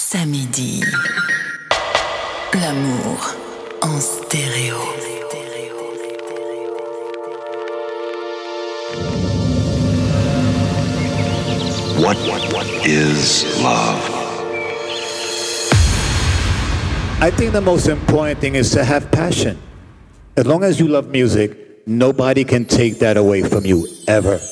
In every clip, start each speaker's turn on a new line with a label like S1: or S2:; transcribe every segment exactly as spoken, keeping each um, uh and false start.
S1: Samedi. L'amour en stéréo.
S2: What, what, what is love?
S3: I think the most important thing is to have passion. As long as you love music, nobody can take that away from you, ever.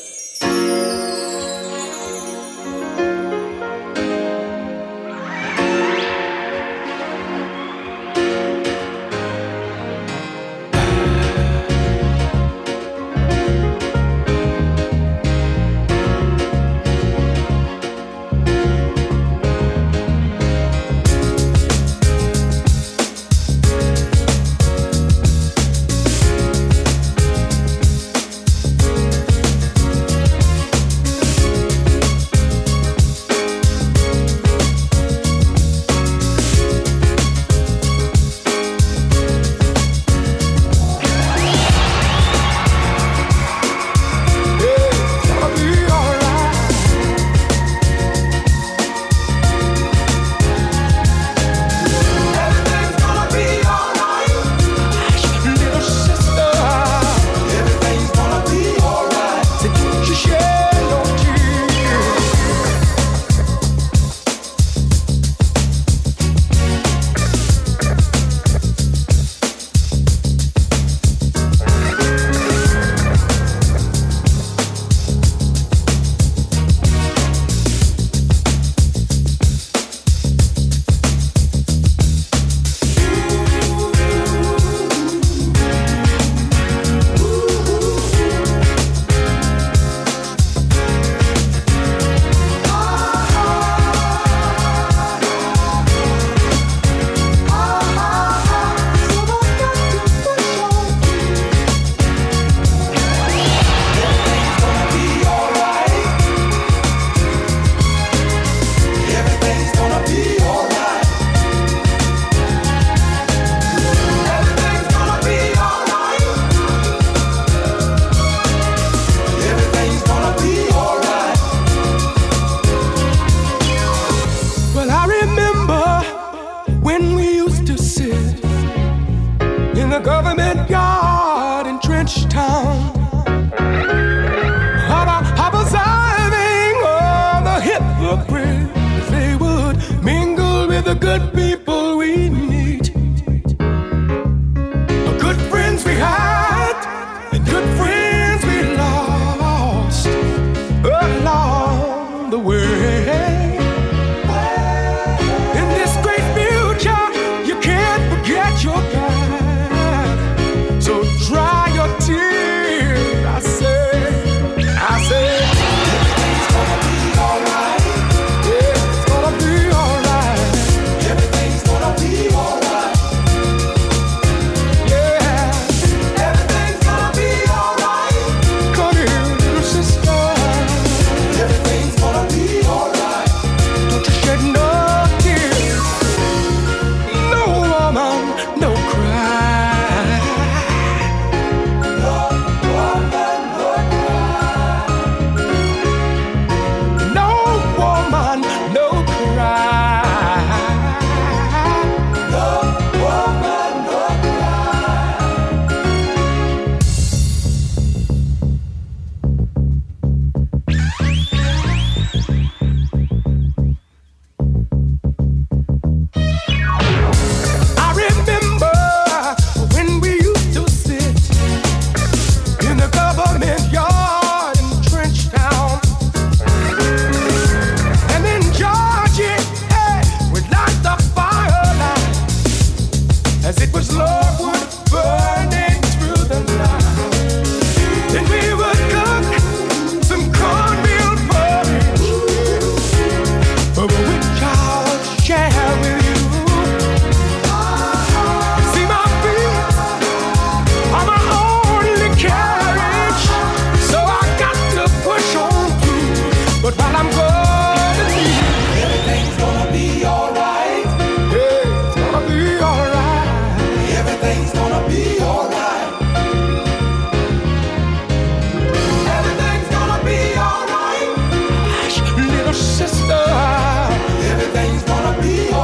S4: Sister, everything's gonna be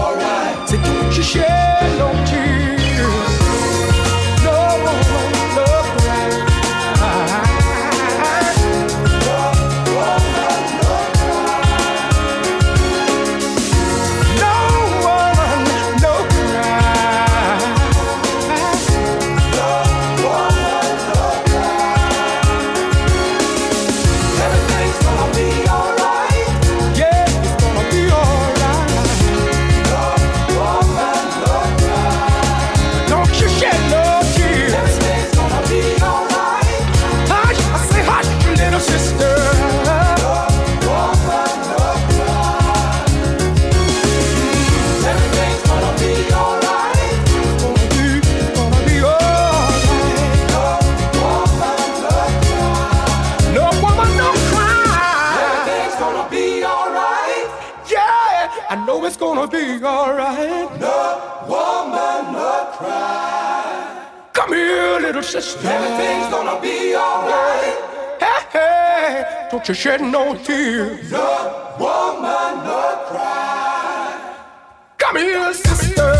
S4: gonna be alright. No woman, no cry. Come here, little sister. Everything's gonna be alright. Hey, hey, don't you shed no tears. No woman, no cry. Come here, sister.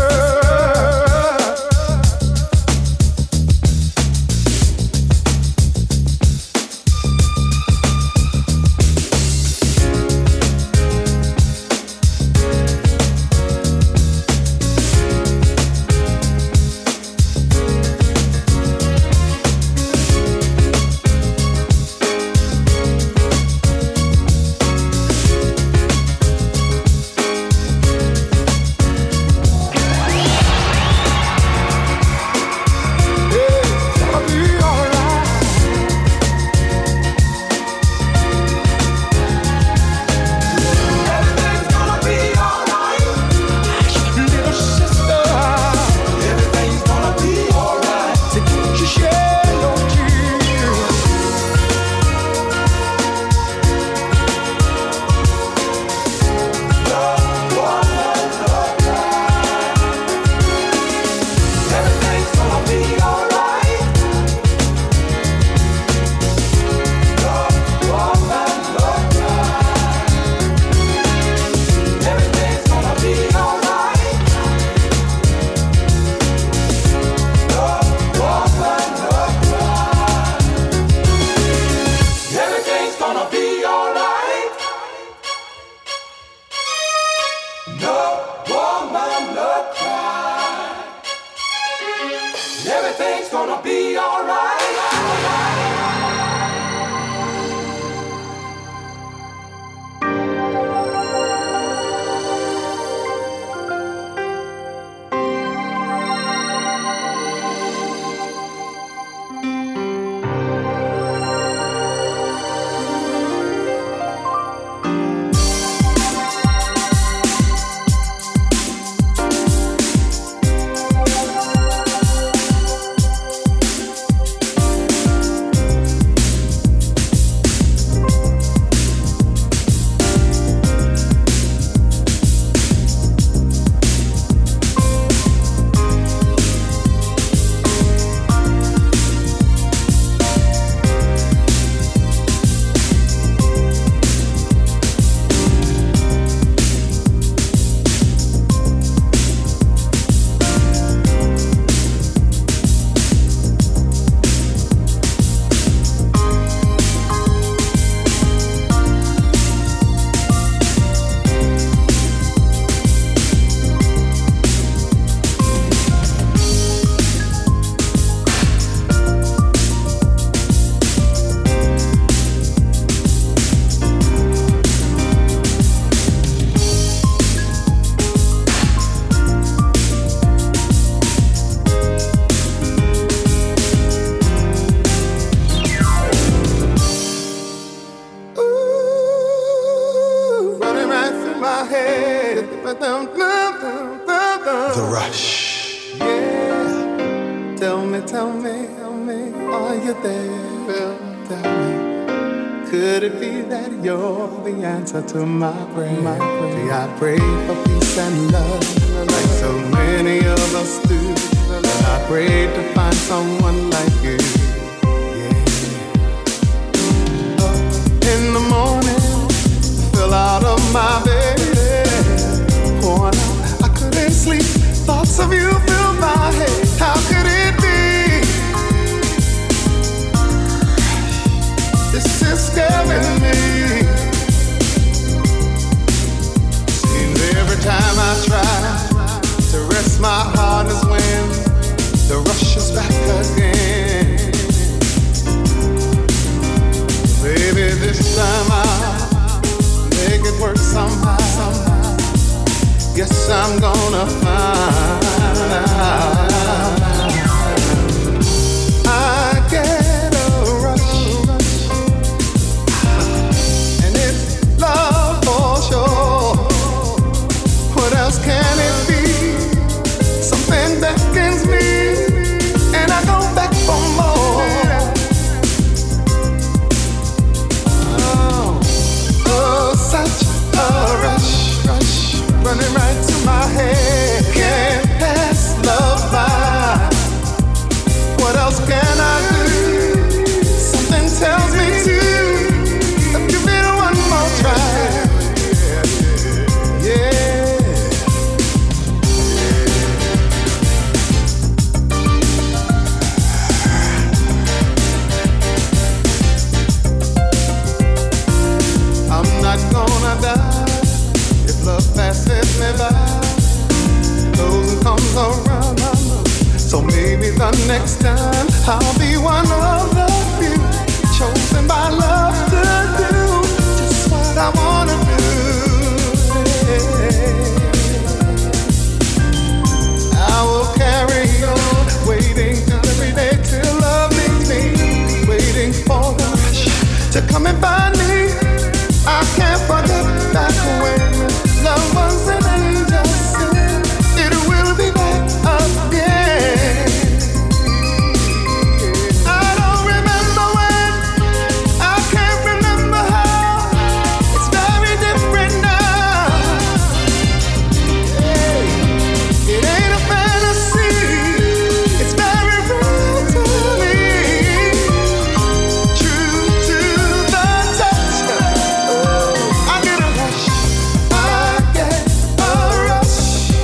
S5: The Rush. Yeah. Tell me, tell me, tell me, are you there? Tell me, could it be that you're the answer to my prayer? My prayer. See, I pray for peace and love, like so many of us do. And I pray to find someone like you. Yeah. Up in the morning, fell out of my bed, worn out, I couldn't sleep. Thoughts of you filled my head. How could it be? This is scaring me. Seems every time I try to rest my heart is when the rush is back again. Baby, this time I'll make it work somehow. Guess I'm gonna find out. I get a rush, and it's love for sure. What else can it be? Something beckons me, and I go back for more. Oh, oh, such a rush, rush, running right my head. Can't pass love by. What else can I do? Something tells me to give it one more try. Yeah. I'm not gonna die if love passes me by. Goes and comes around, I know. So maybe the next time I'll be one of the few chosen by love to do just what I wanna do. I will carry on, waiting every day till love meets me, waiting for the rush to come and find me. I can't forget back when love was an angel sin. It will be back again. I don't remember when, I can't remember how. It's very different now. Hey, it ain't a fantasy. It's very real to me. True to the touch. I get a rush. I get a rush.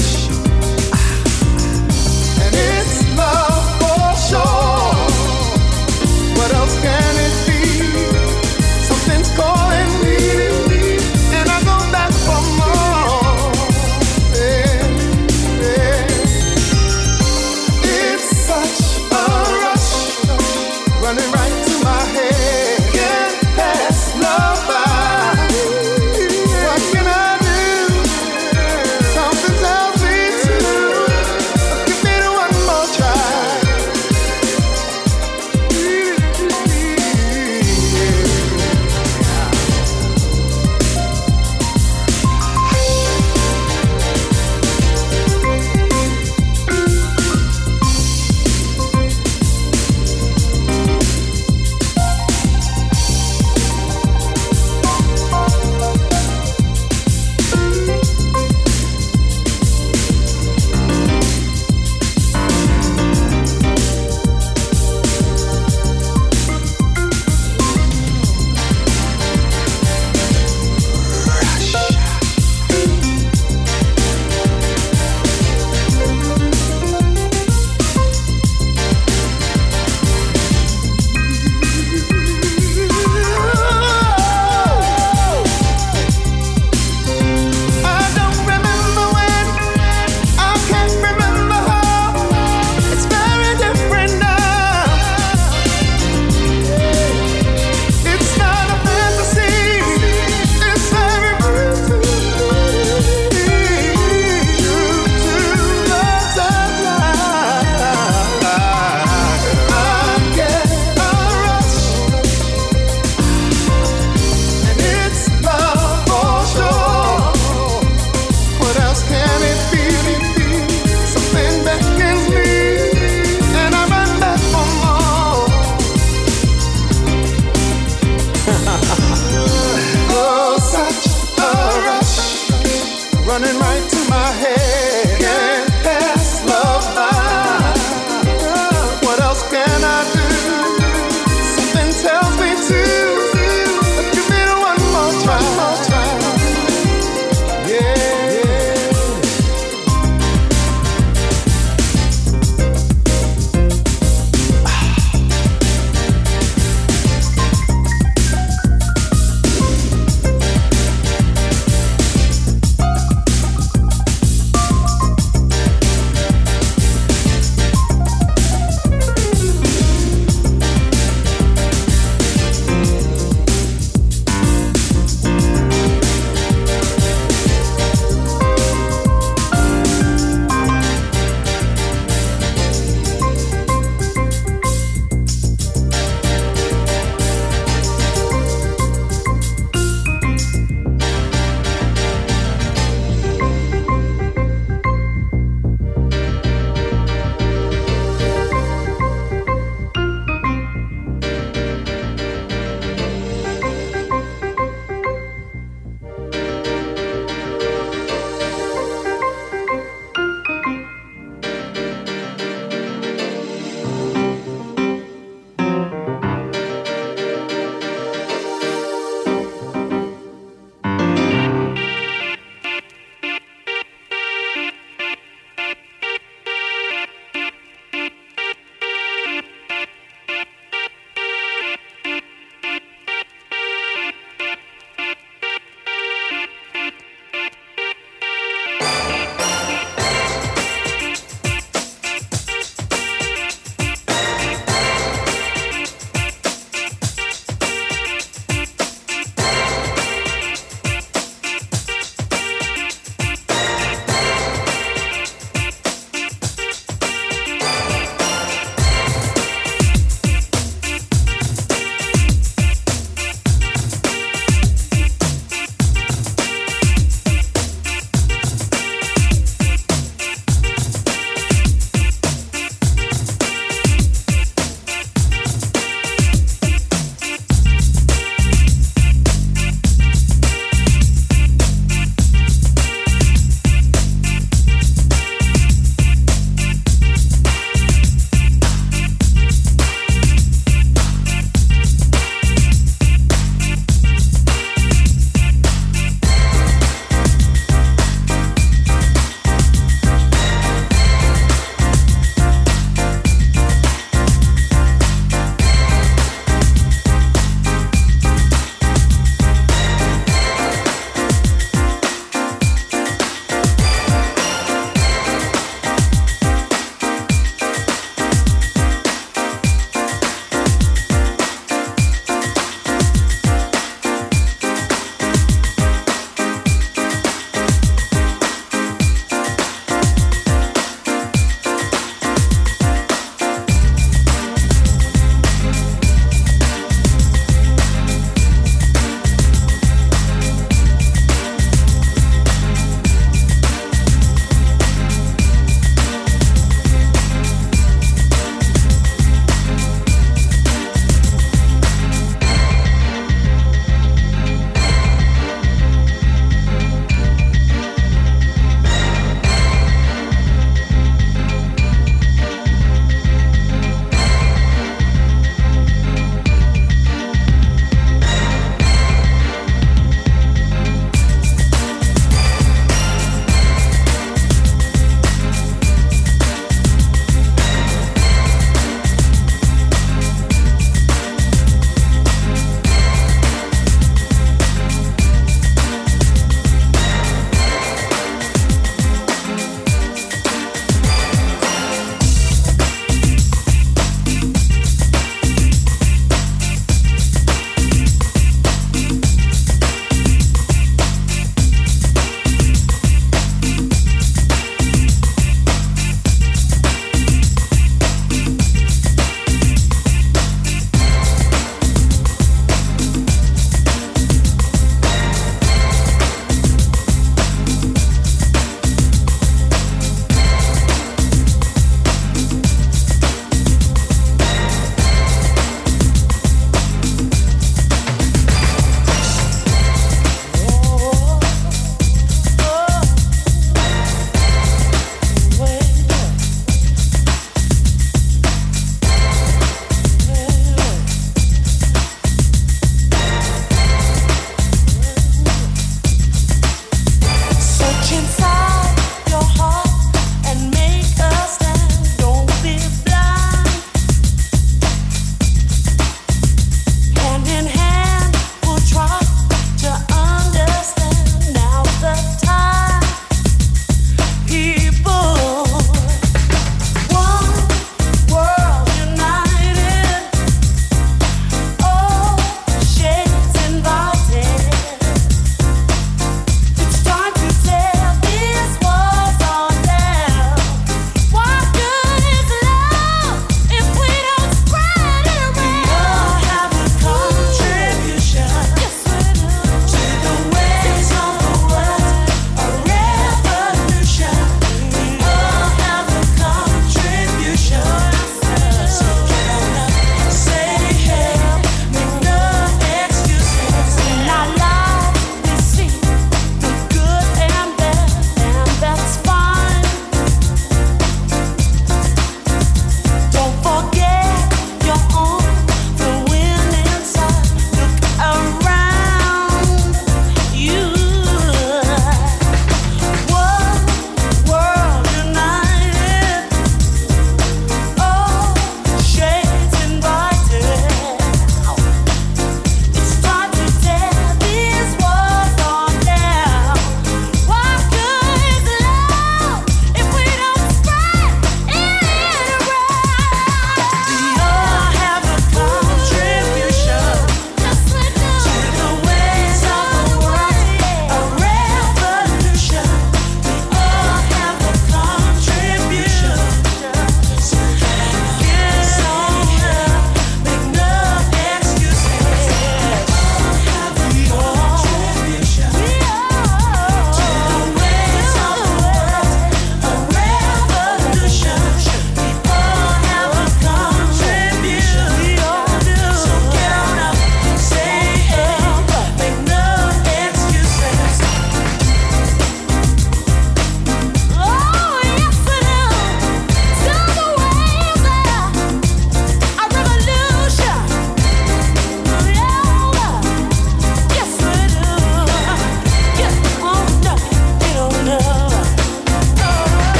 S5: And it's love for sure. What else can it be? Something's calling me, and I go back for more. Yeah, yeah. It's such a rush, running right to my head. Can't pass love by. What can I do? Something tells me to give me the one more try. I don't remember when, I can't remember how. It's very different now. It's not a fantasy. It's very real to me. True to the touch. I get a rush, and it's love for sure. What else can it be? Something beckons me, and I run back for more. Oh, such a rush, running right to my head. Can't pass love by. What else can I do? Something tells me to give me the one more try. Yeah, yeah.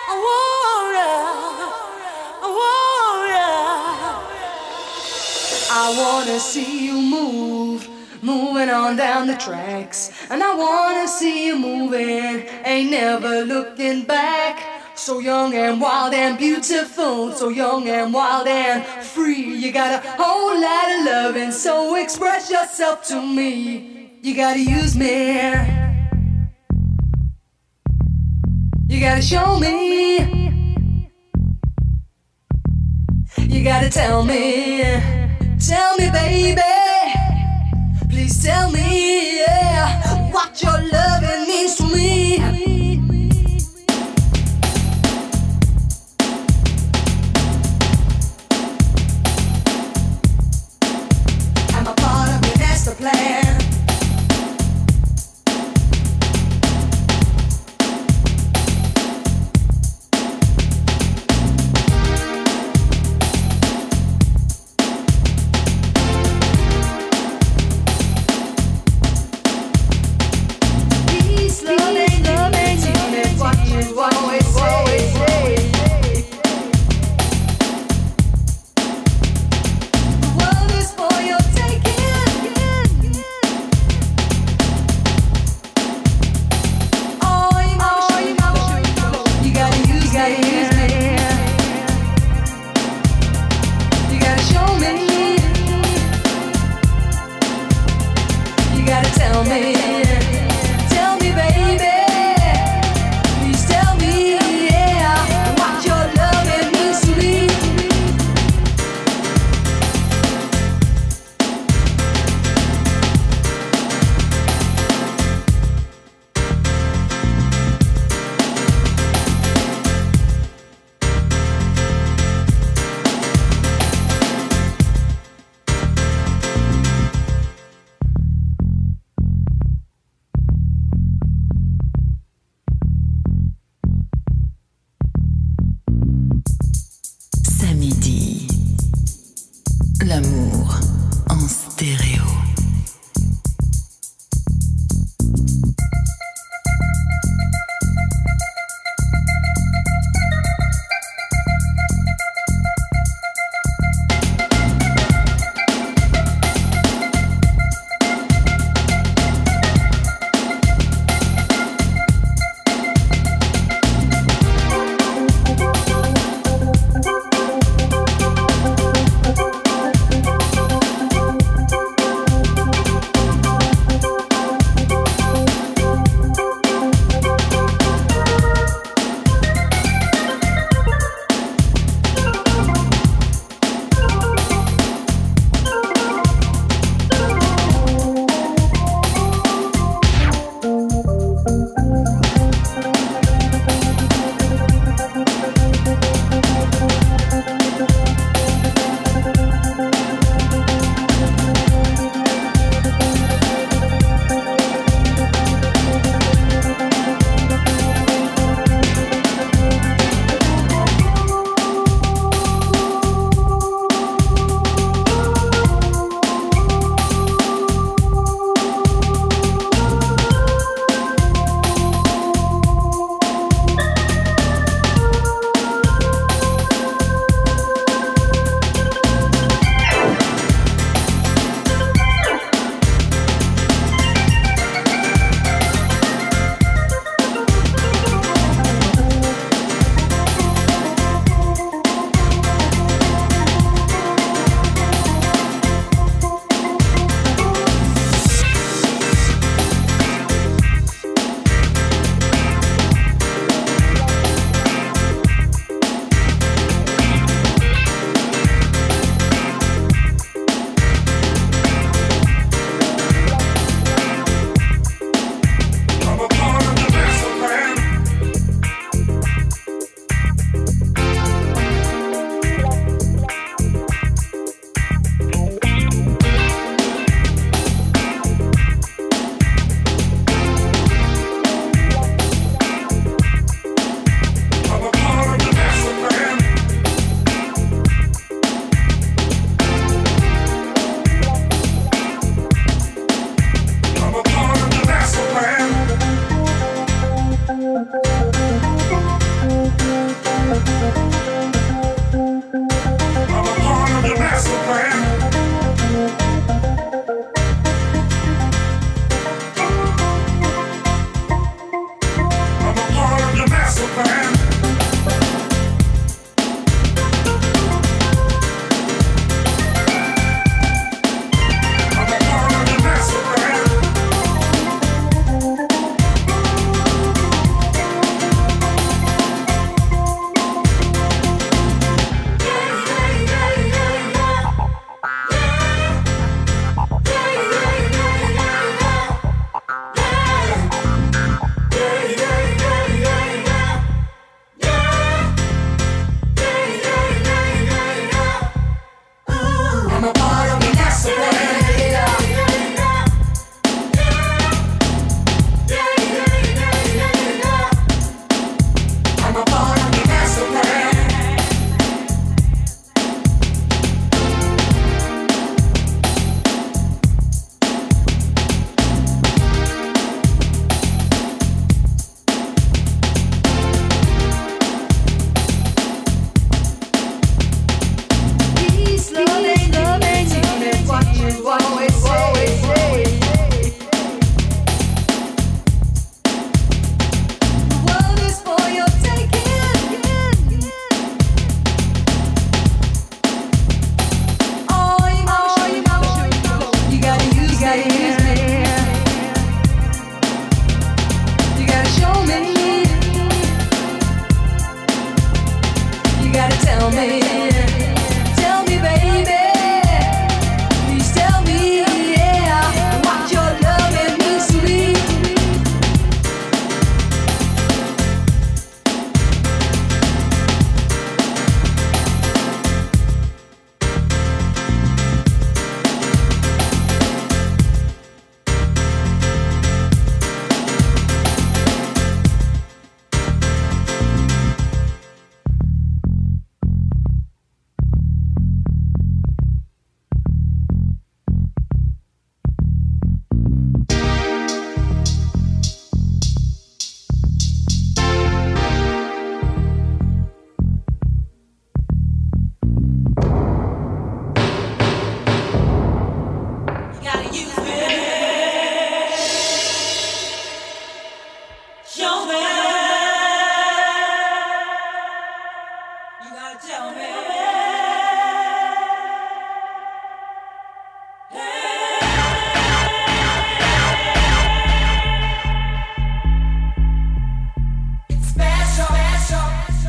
S6: I wanna see you move, moving on down the tracks. And I wanna see you moving, ain't never looking back. So young and wild and beautiful, so young and wild and free. You got a whole lot of loving, so express yourself to me. You gotta use me, you gotta show me, you gotta tell me, tell me baby, please tell me, yeah, what your loving means to me. Plan. Peace, love, and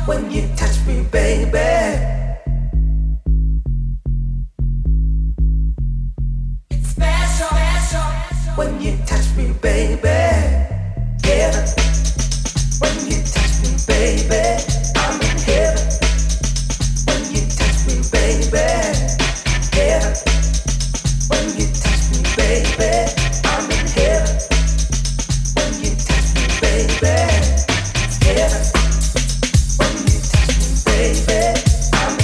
S7: when you touch me, baby. It's special, special when you touch me, baby. Heaven, when you touch me, baby. I'm in heaven when you touch me, baby. Heaven, when you touch me, baby. I'm in heaven when you touch me, baby. Heaven, when you touch me, baby. I'm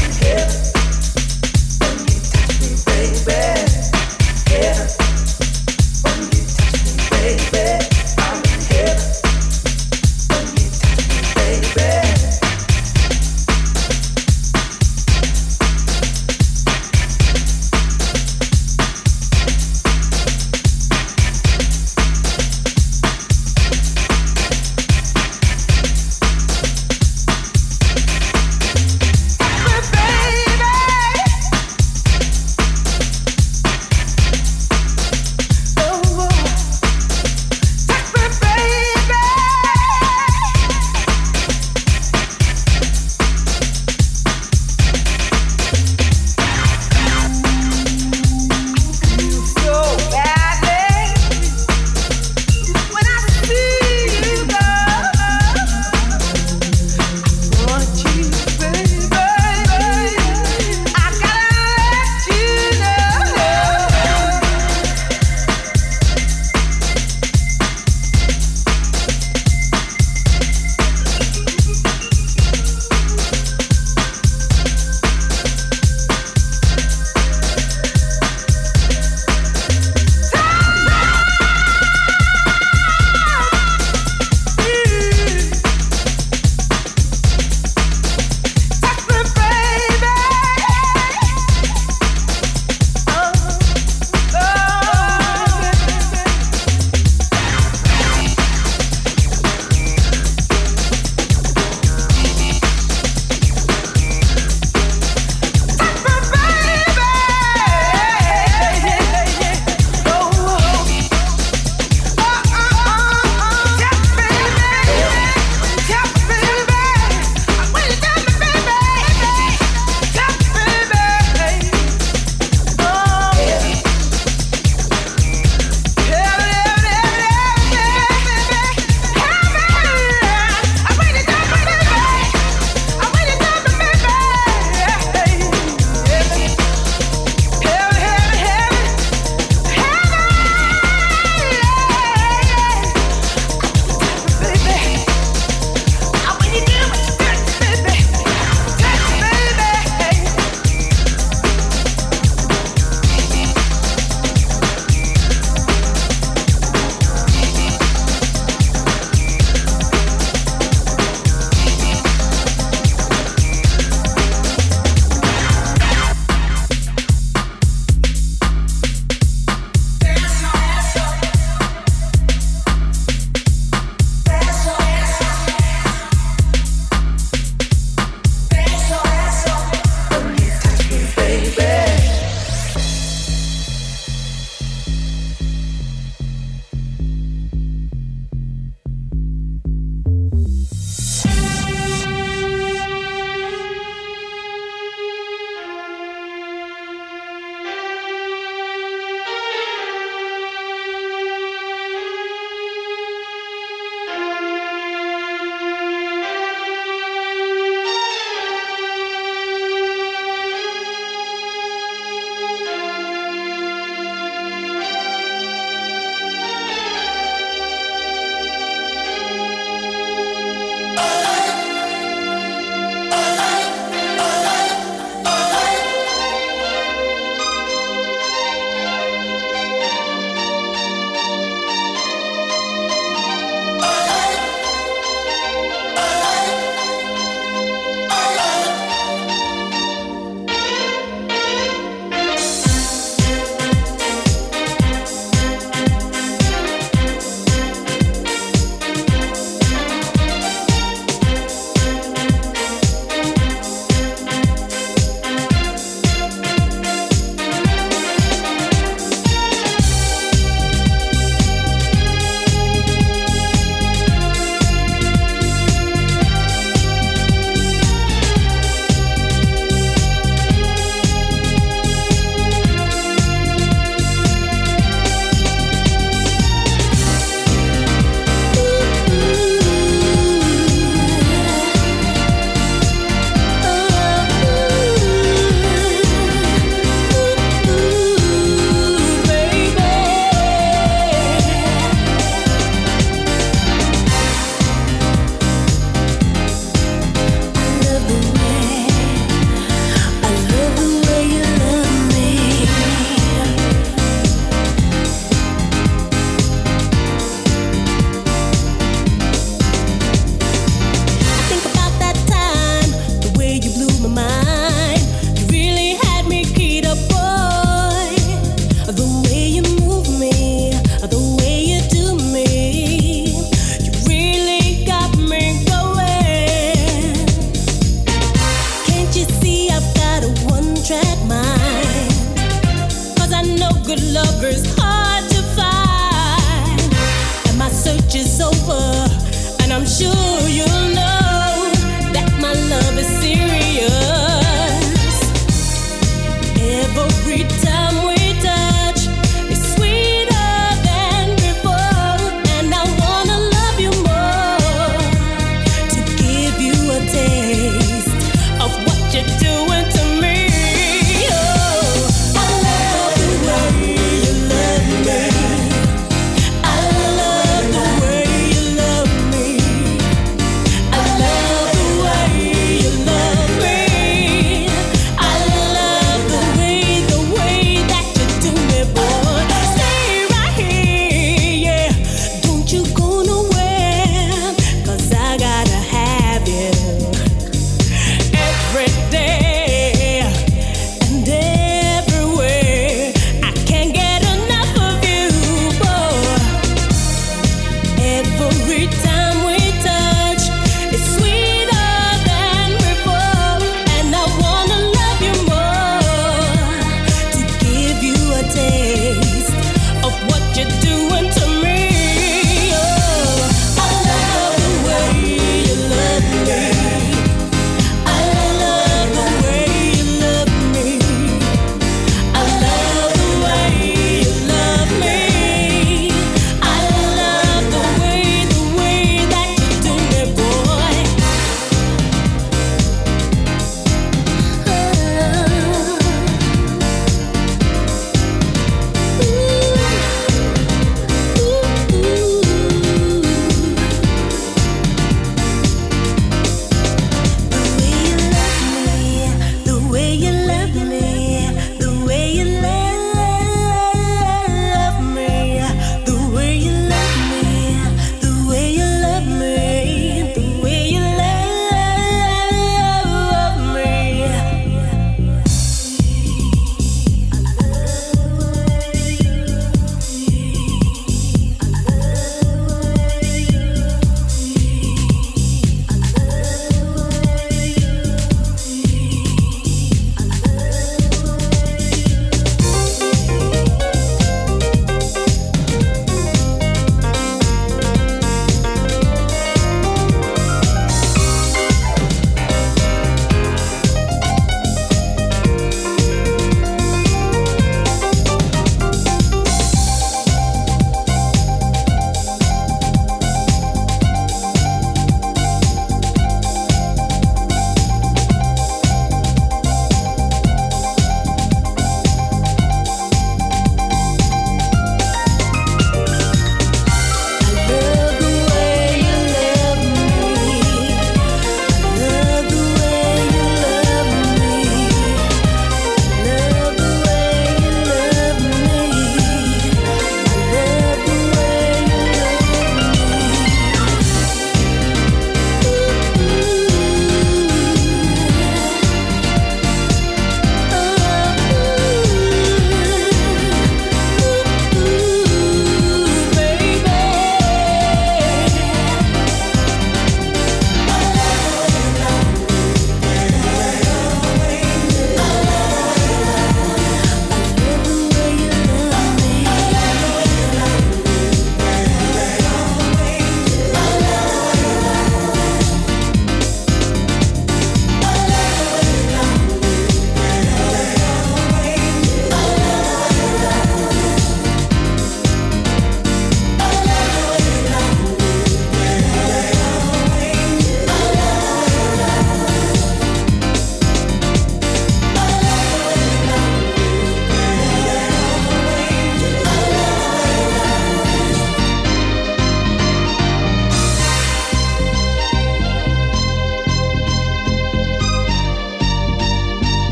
S8: you'll know that my love is serious. Every time we touch, it's sweeter than before, and I wanna love you more, to give you a taste of what you're doing to me. Oh, I love the way you love me. I love the way you love me.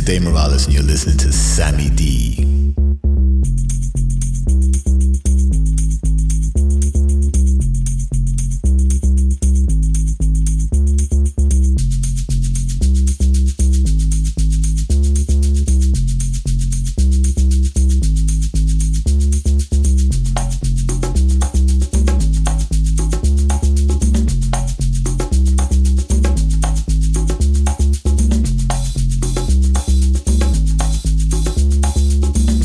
S9: Dave Morales, and you're listening to Sammy D.
S10: Thank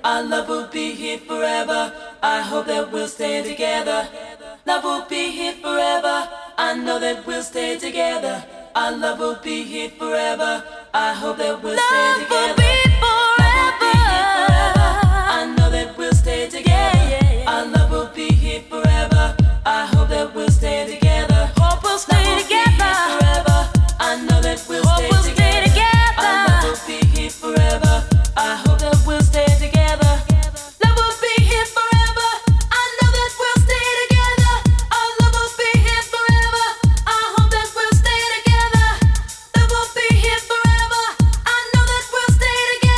S7: Our love will be here forever. I hope that we'll stay together. Love will be here forever. I know that we'll stay together. Our love will be here forever. I hope that we'll stay together. Love will be forever. I know that we'll stay together. Our love will be here forever. I hope that we'll stay together. Hope we'll stay together forever. I know that we'll stay together. Our love will be here forever. I hope that we'll stay together. Love will be here forever. I know that we'll stay together. Our love will be here forever. I hope that we'll stay together. Love will be here forever. I know that we'll stay together.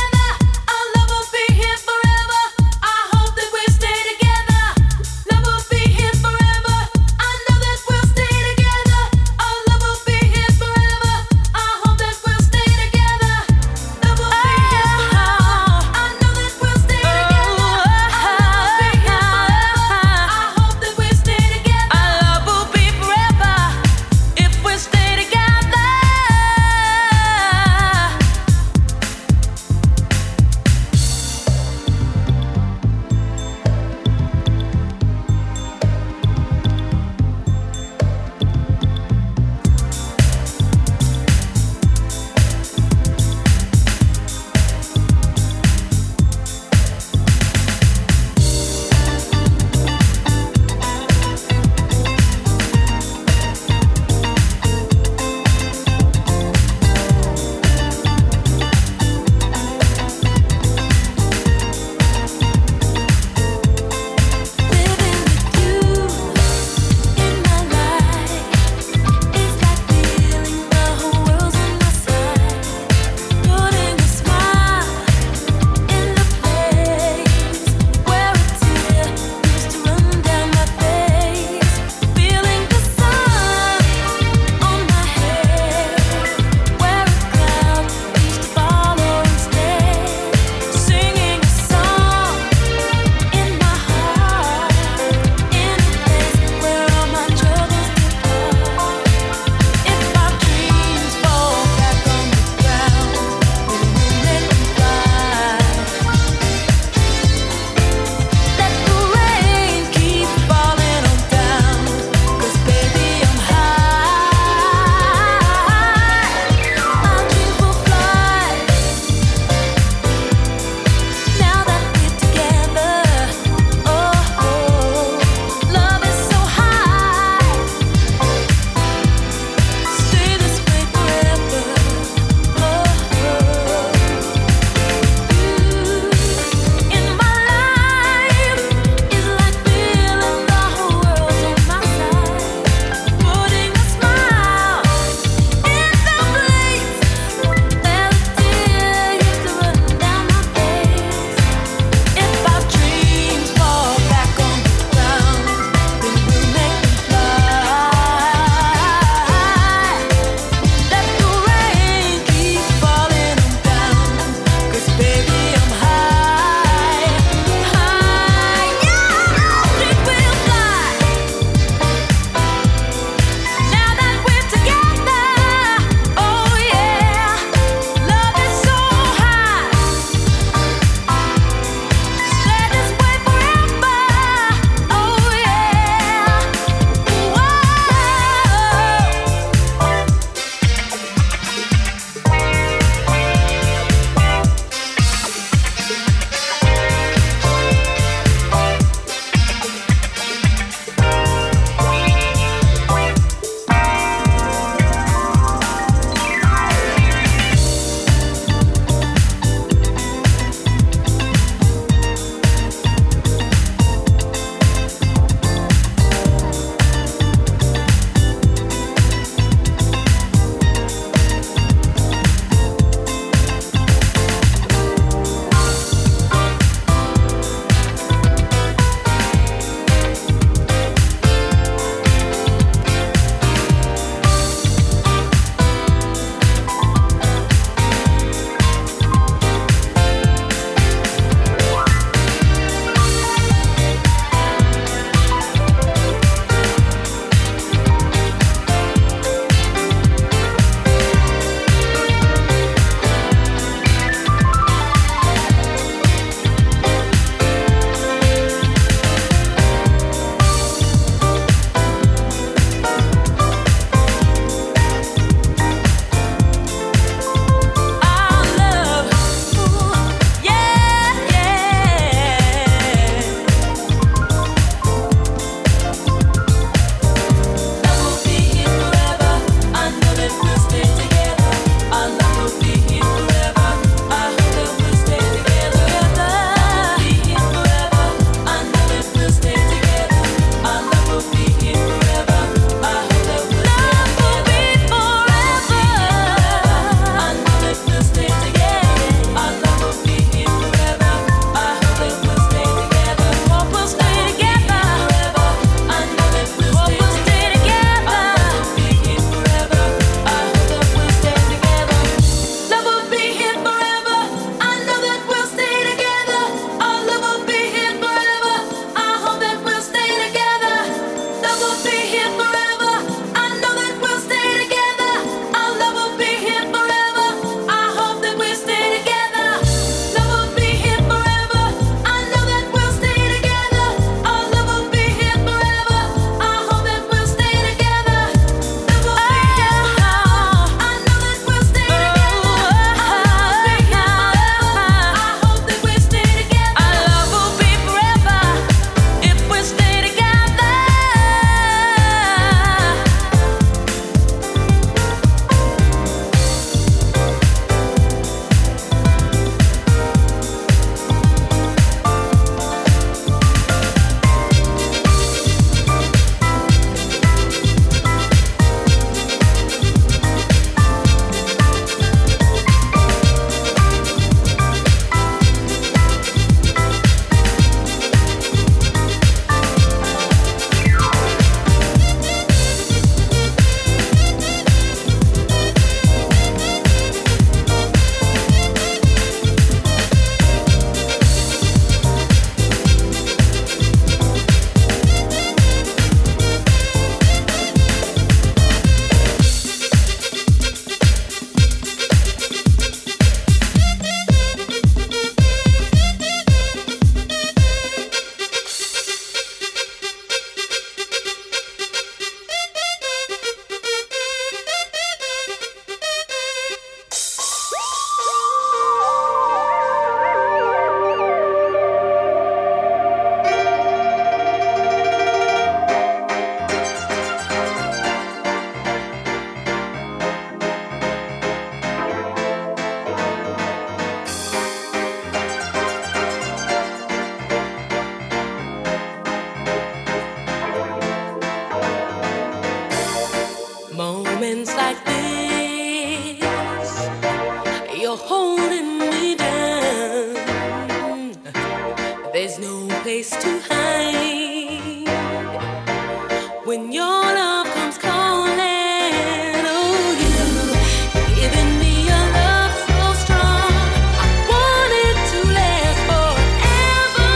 S8: place to hide when your love comes calling. Oh, you giving me a love so strong. I want it to last forever.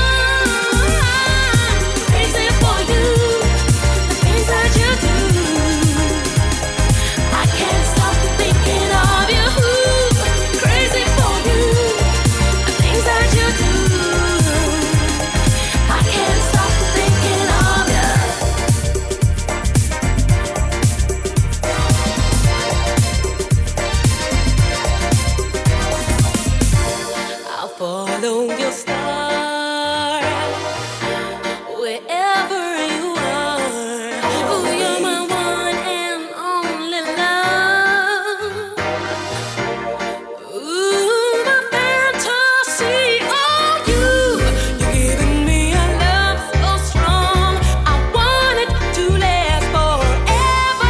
S8: I'm crazy for you, the things that you do. I can't stop thinking of you. Crazy for you, the things that you do. I can't stop thinking of you. I'll follow your star wherever you are. Oh, you're my one and only love. Ooh, my fantasy. Oh, you, you're giving me a love so strong. I want it to last forever.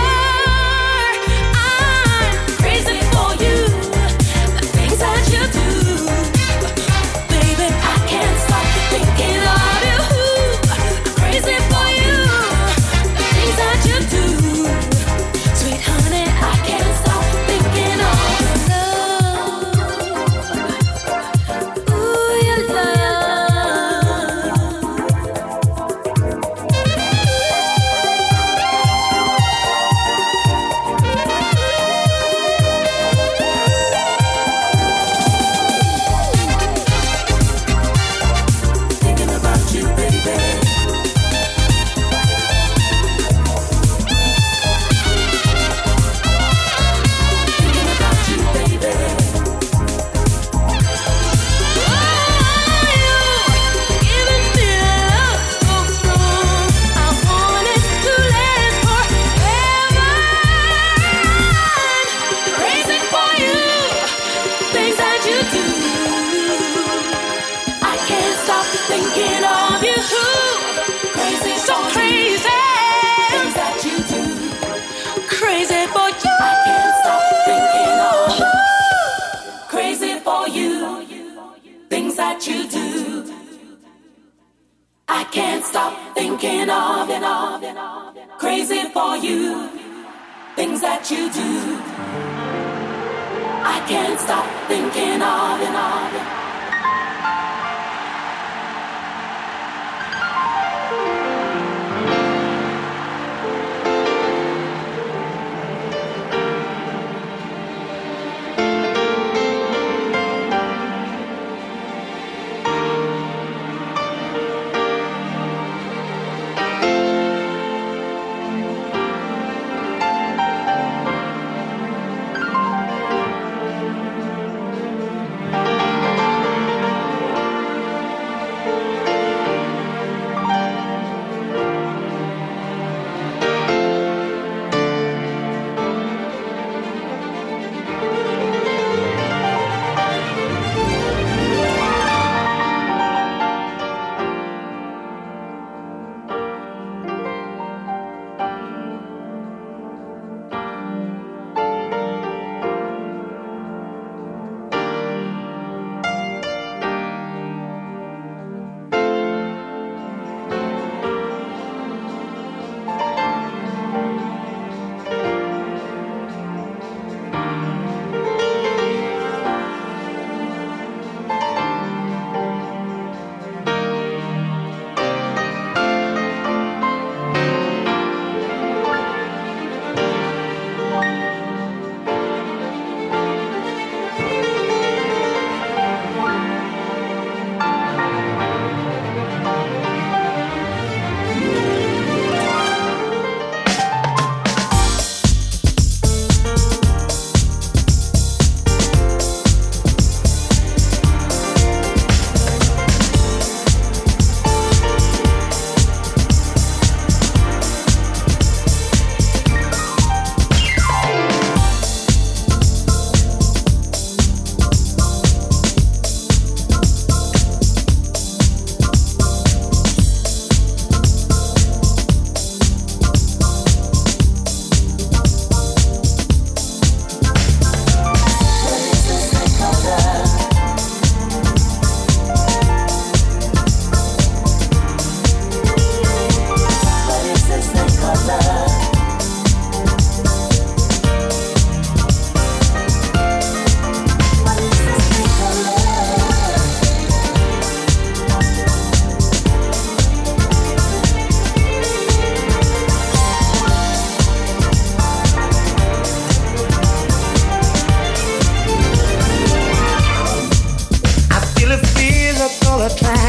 S8: I'm crazy for you, the things that you do. Baby, I can't stop thinking of you. I'm crazy for you, the things that you do. Sweet honey, I can't stop thinking of love. Ooh, your love. Thinking about you, baby. Thinking about you, baby. Giving me love so strong. I want it to last forever. Crazy for you, things that you do. I can't stop thinking of you. Crazy, so crazy, things that you do. Crazy for you. I can't stop thinking of you. Crazy for you, things that you do. I can't stop thinking of it. Crazy for you, things that you do. I can't stop thinking of it.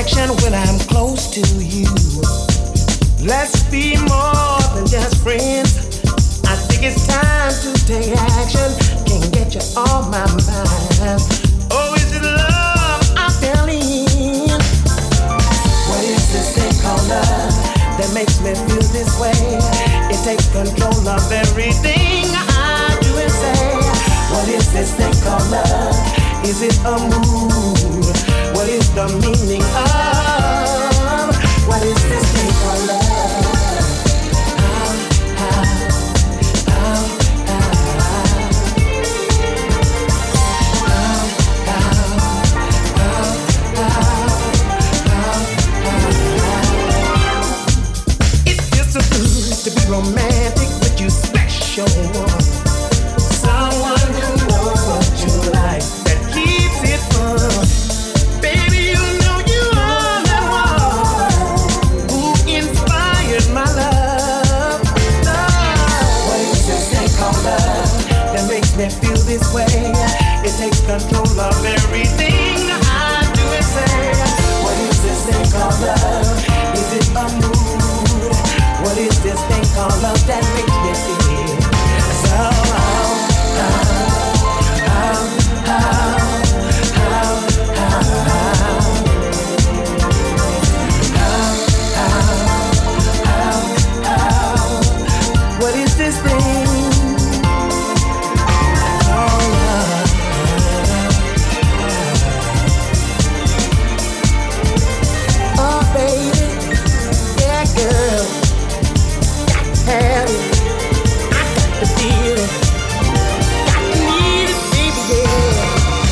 S10: action when I'm close to you. Let's be more than just friends. I think it's time to take action. Can't get you on my mind. Oh, is it love I'm feeling? What is this thing called love that makes me feel this way? It takes control of everything I do and say. What is this thing called love? Is it a mood? What is the meaning of? What is this thing called love? To be romantic with you special. Someone who knows what you like, that keeps it fun. Baby, you know you are the one who inspired my love. Love. What is this thing called love that makes me feel this way? It takes control of everything I do and say. What is this thing called love? Is it a mood? What is this thing called love that makes me feel so how, how, how, how, how, how, what is this thing called love? Oh baby, yeah girl, have it. I got to feel it. Got to need it, baby, yeah.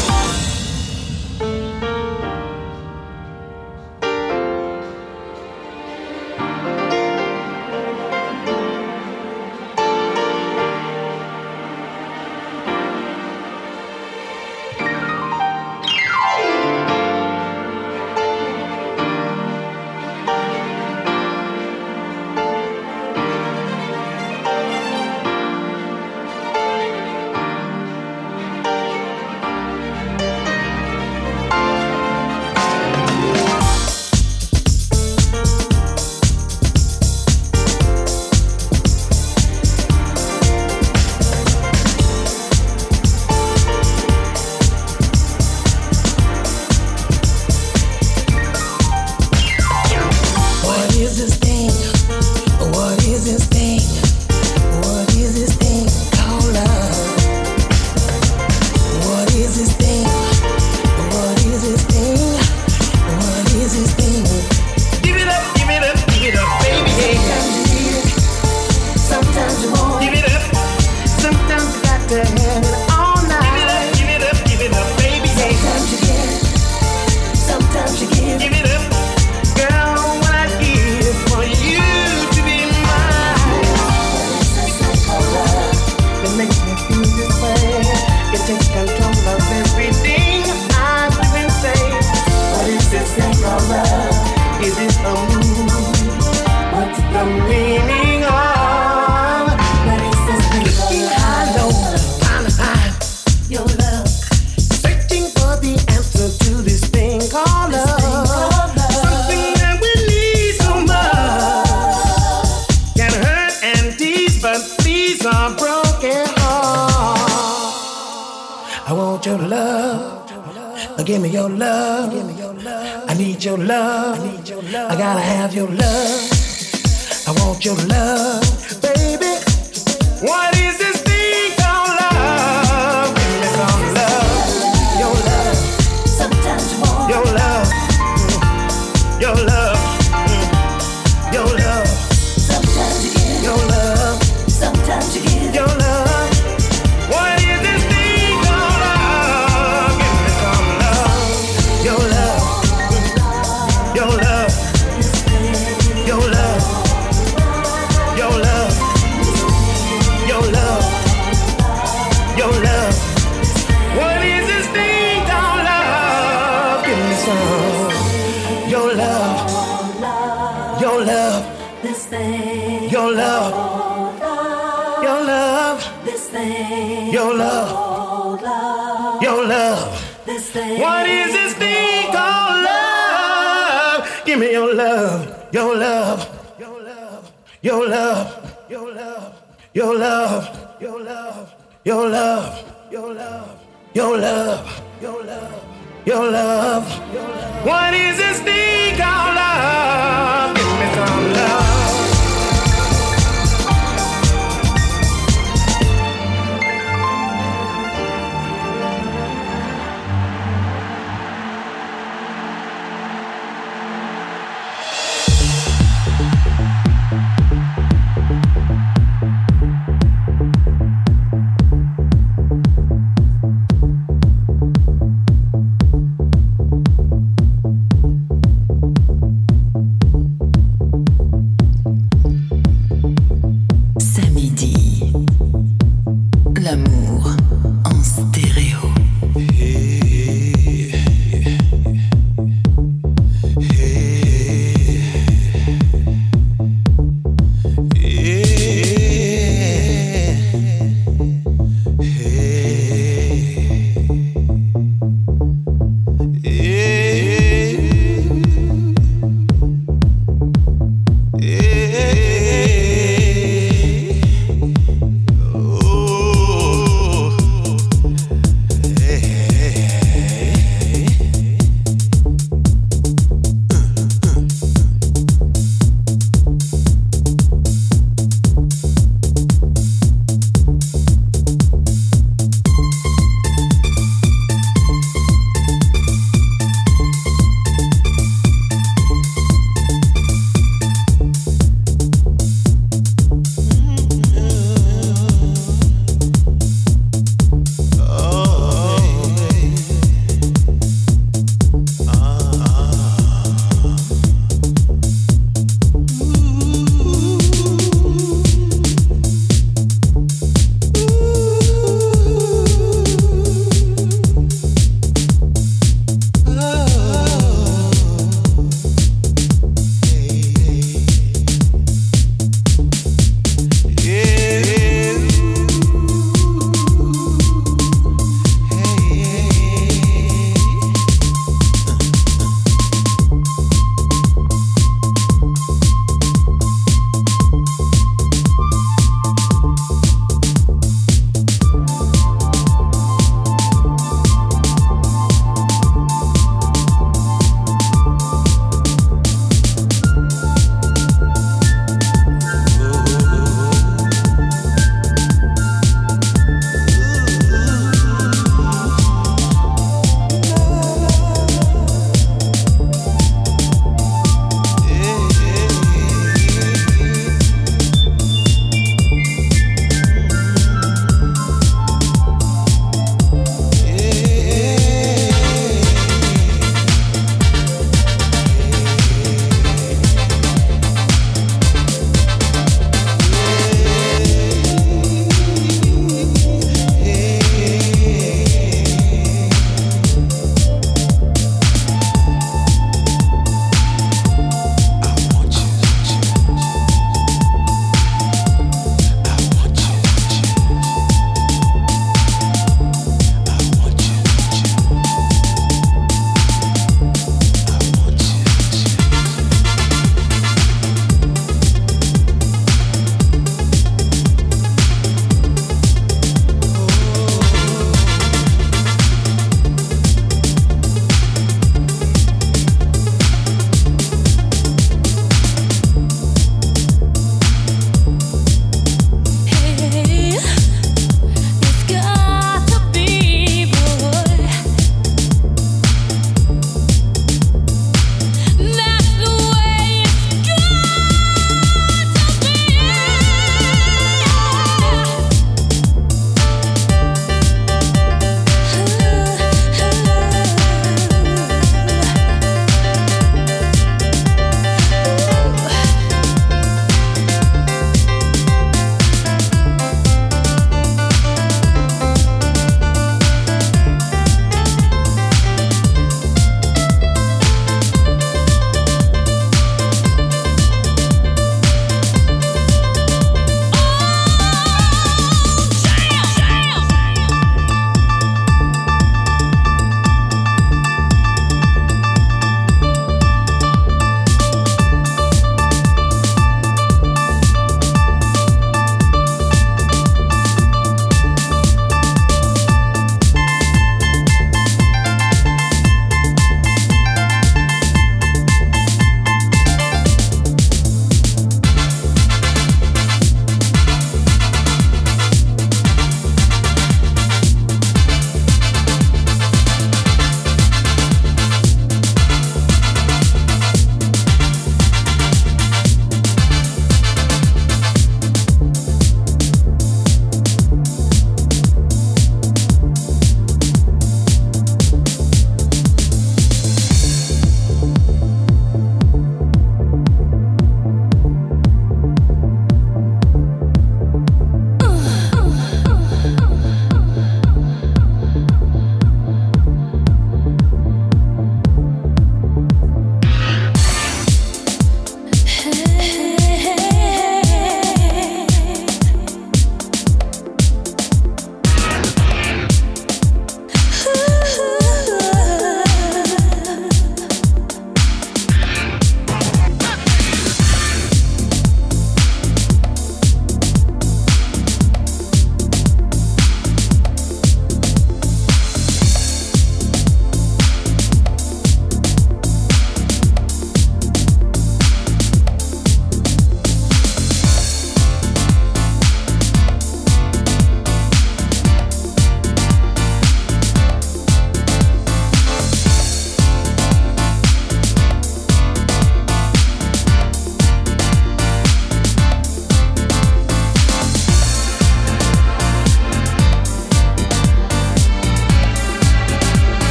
S10: Give me your love. I need your love. I gotta have your love. I want your love, baby. What is this thing called love? Give me some love. Your love. Sometimes you want your love. Your love. Your love. Sometimes you give your love. Sometimes you give your love. Your love, your love, this thing. Your love, your love, this thing. What is this thing called love? give me your love, your love, your love, your love, your love, your love, your love, your love, your love, your love, your love, your love. What is this thing called love? Give me some love.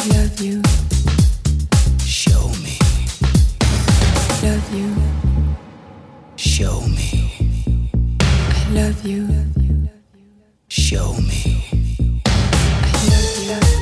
S1: love you. Show me. Love you. Show me. I love you. Show me. I love you.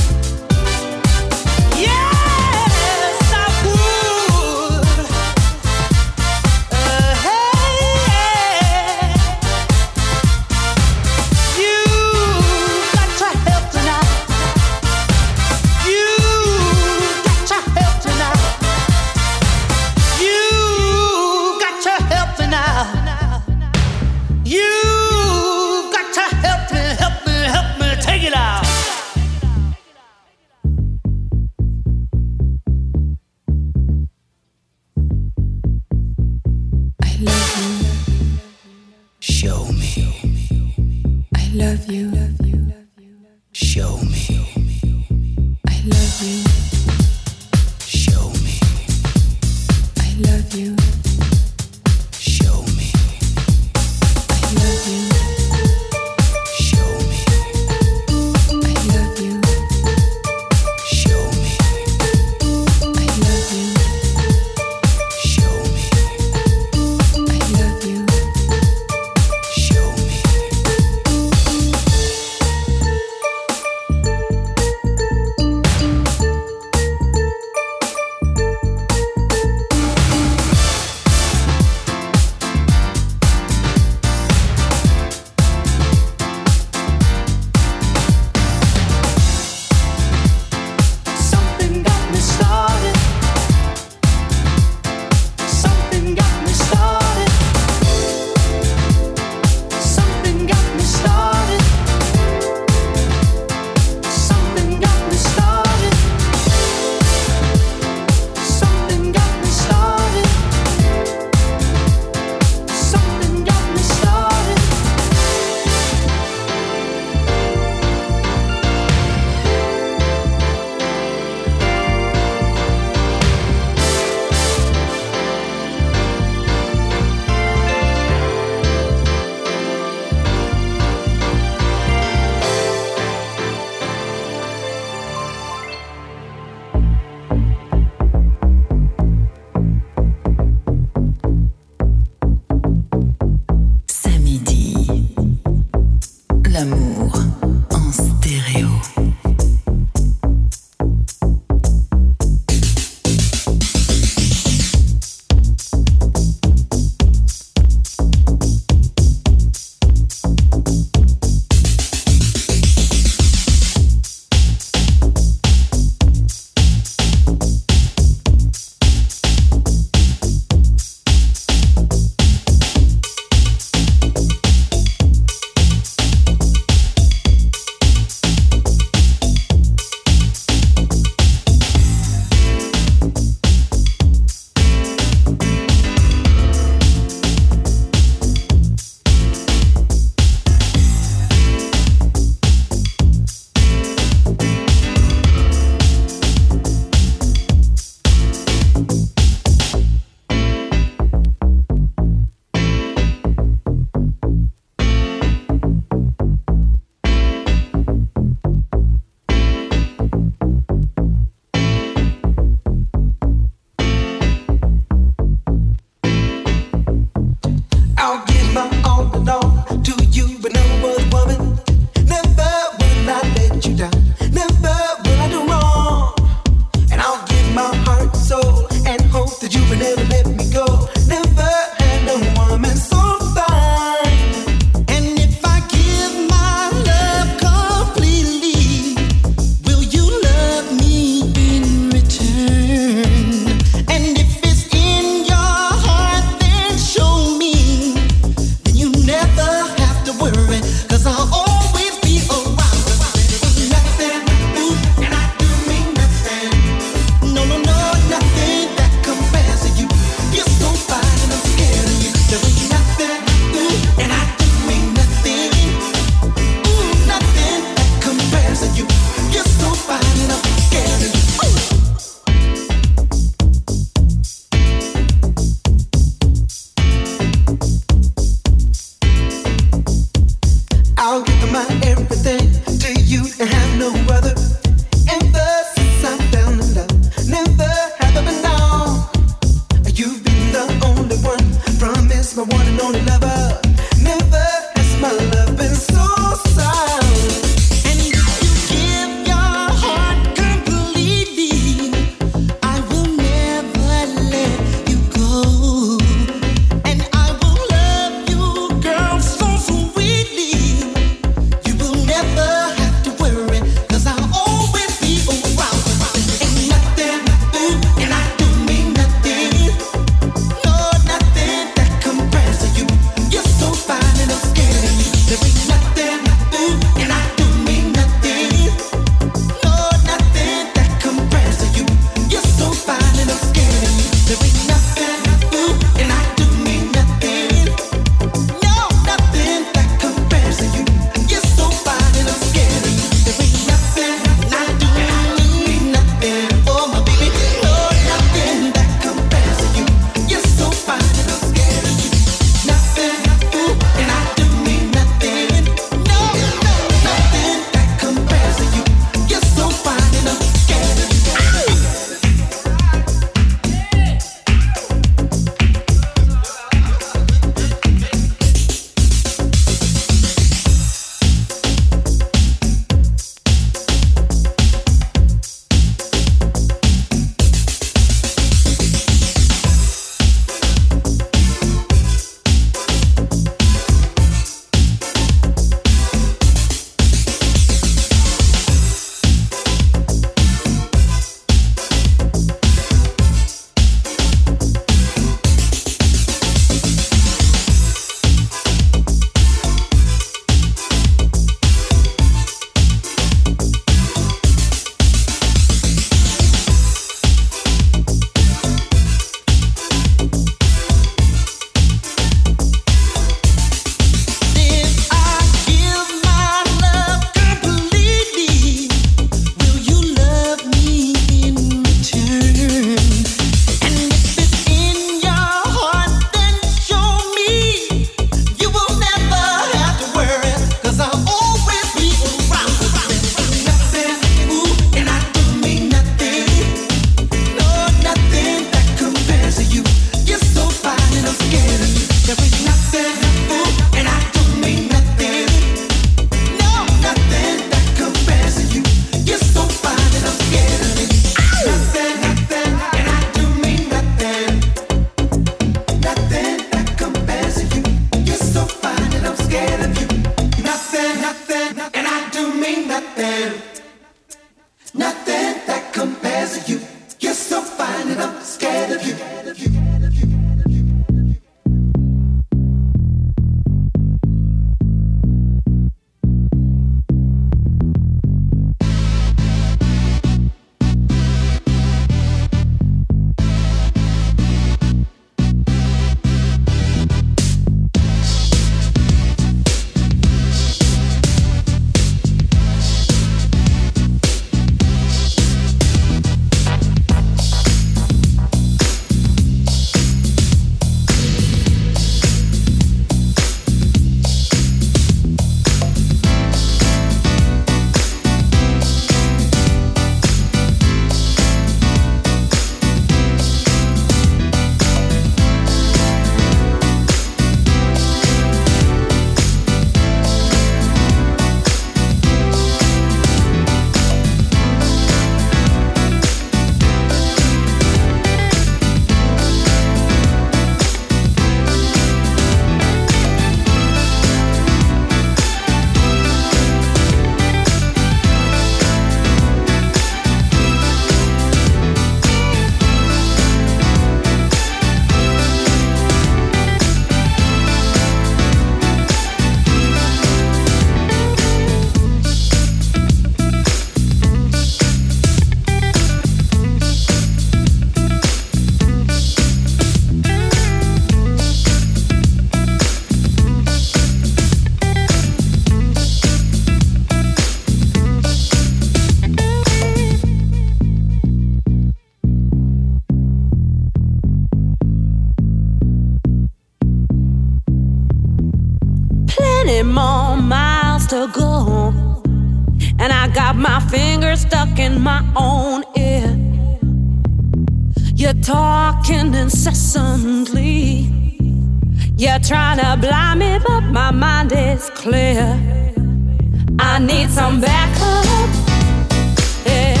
S8: got my fingers stuck in my own ear. You're talking incessantly. You're trying to blind me, but my mind is clear. I need some backup. Yeah.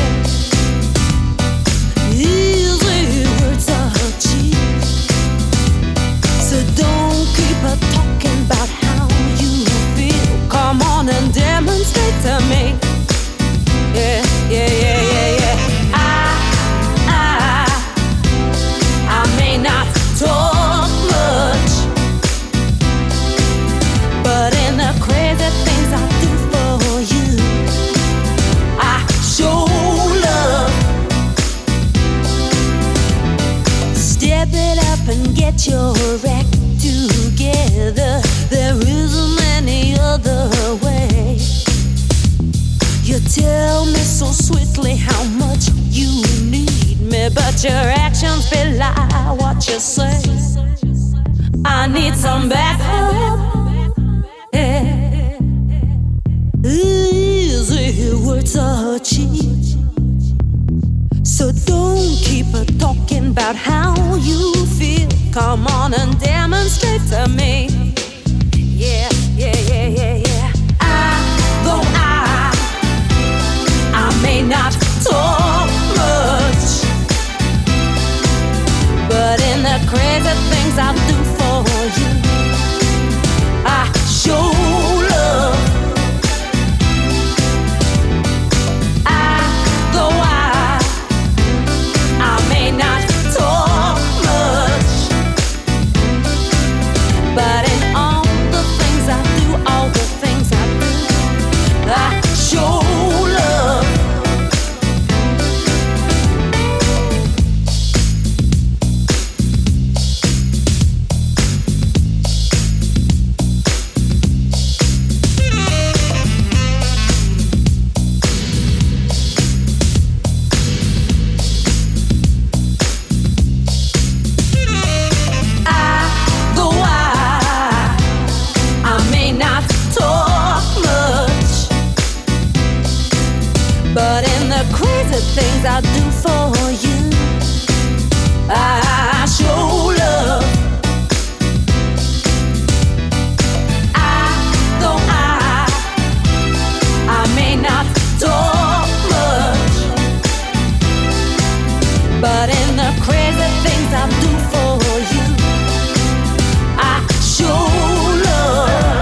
S8: Easy words are cheap, so don't keep a talking about how you feel. Come on and demonstrate to me. Yeah, yeah, yeah, yeah, yeah. I, I, I may not talk much, but in the crazy things I do for you, I show love. Step it up and get your act together. There isn't any other way. You tell me so sweetly how much you need me, but your actions belie what you say. I need some backup. Yeah. Easy words are cheap, so don't keep a talking about how you feel. Come on and demonstrate to me. Yeah, yeah, yeah, yeah, yeah. I, though I, I may not talk much, but in the crazy things I do for you, I show love. I, though I, I may not talk much, but in all the things I do, all the things I do, I show love. Things I do for you, I show love. I, though I, I may not talk much, but in the crazy things I do for you, I show love.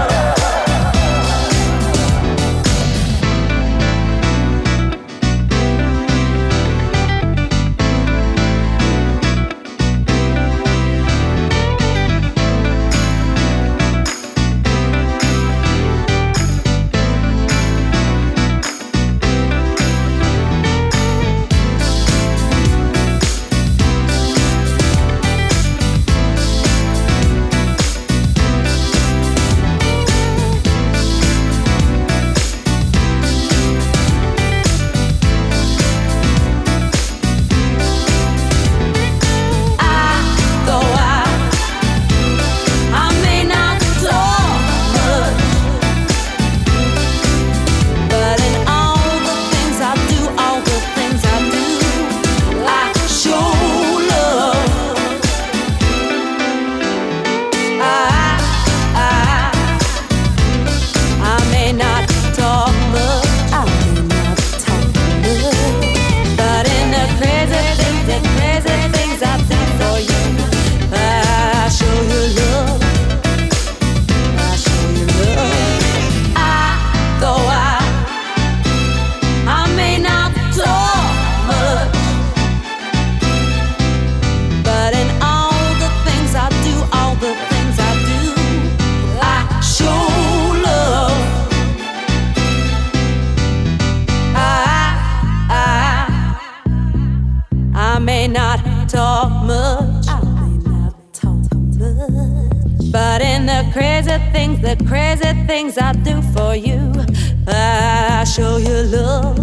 S8: crazy things, the crazy things I do for you. I show you love.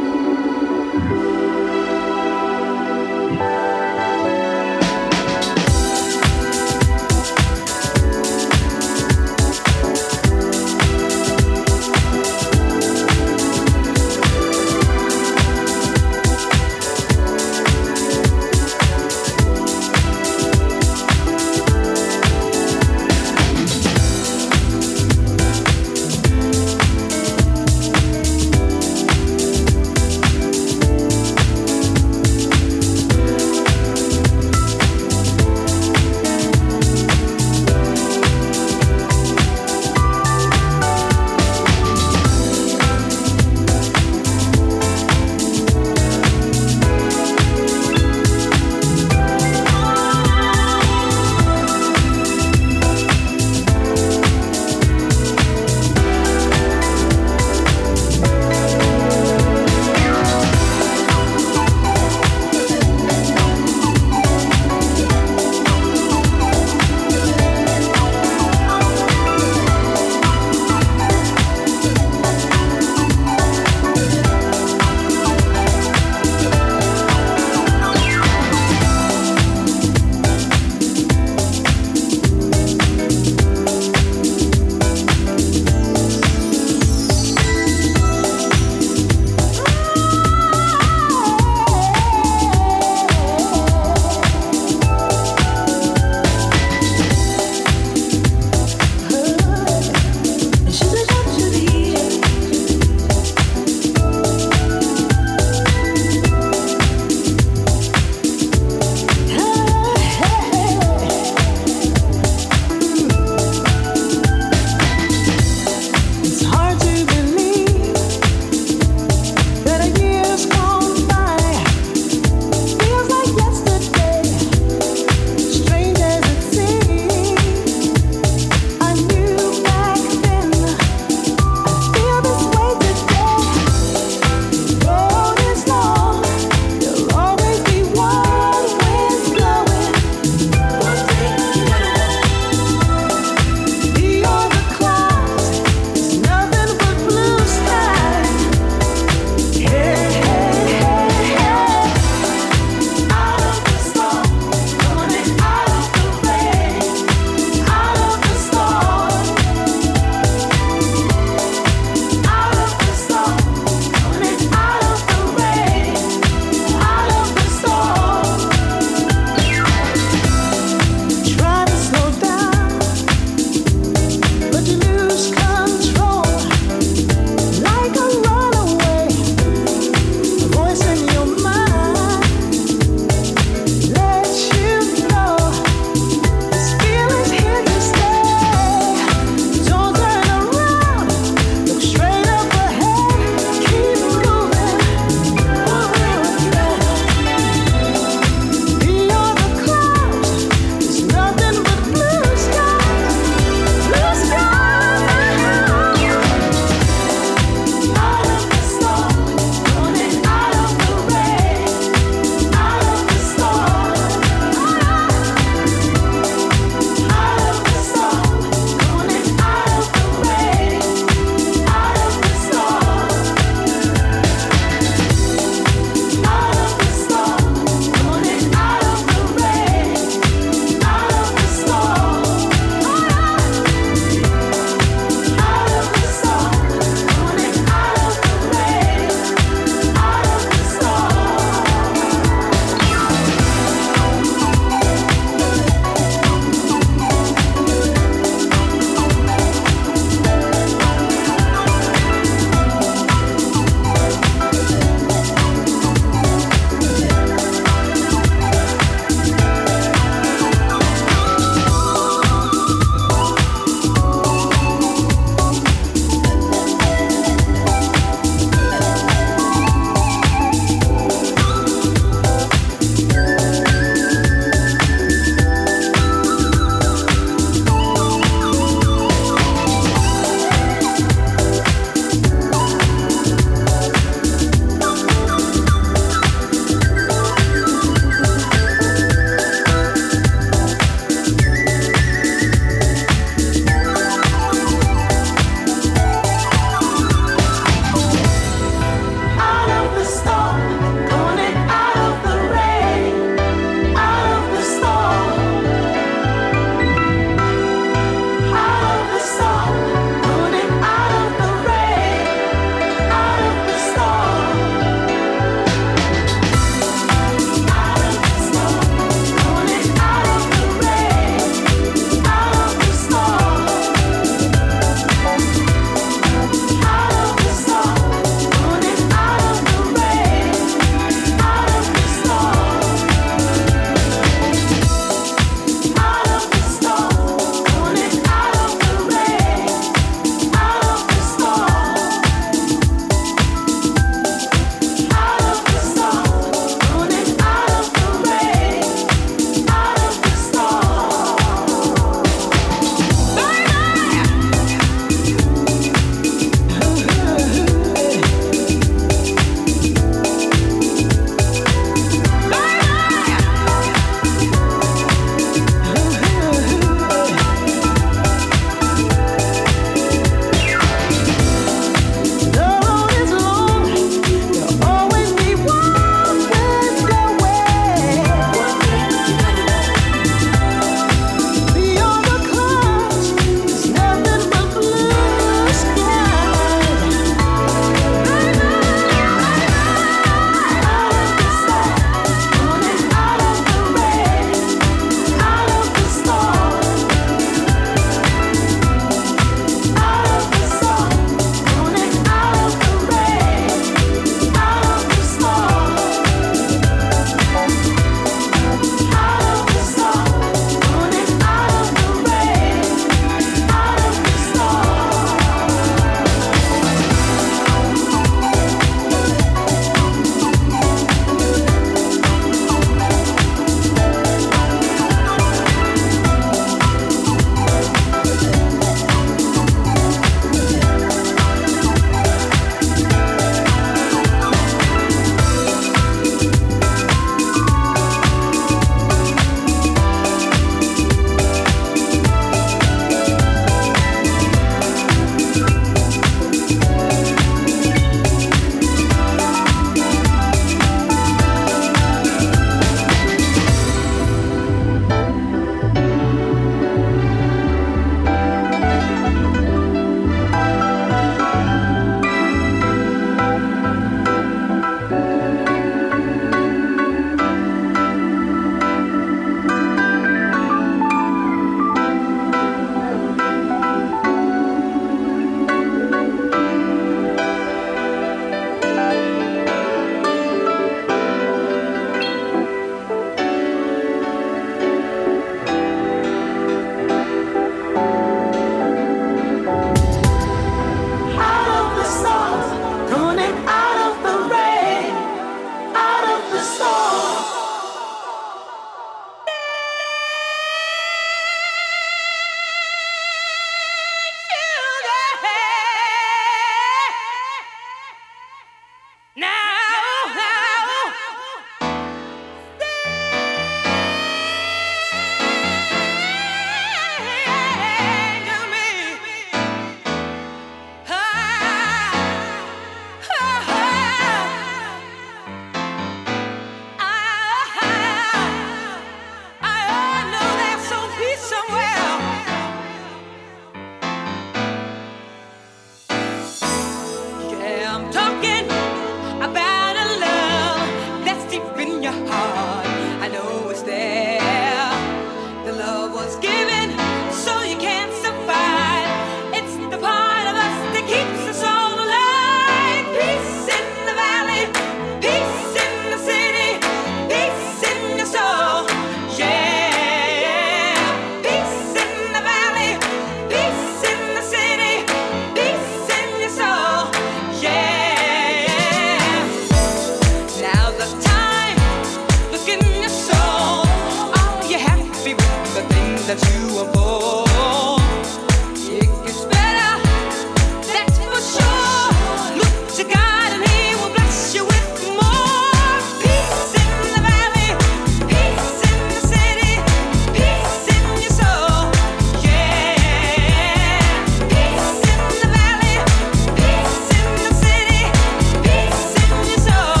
S6: that you are born. It gets better, that's for sure. Look to God and He will bless you with more. Peace in the valley, peace in the city, peace in your soul. Yeah, peace in the valley, peace in the city, peace in your soul.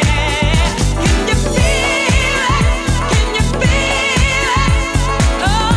S6: Yeah, can you feel it? Can you feel it? Oh.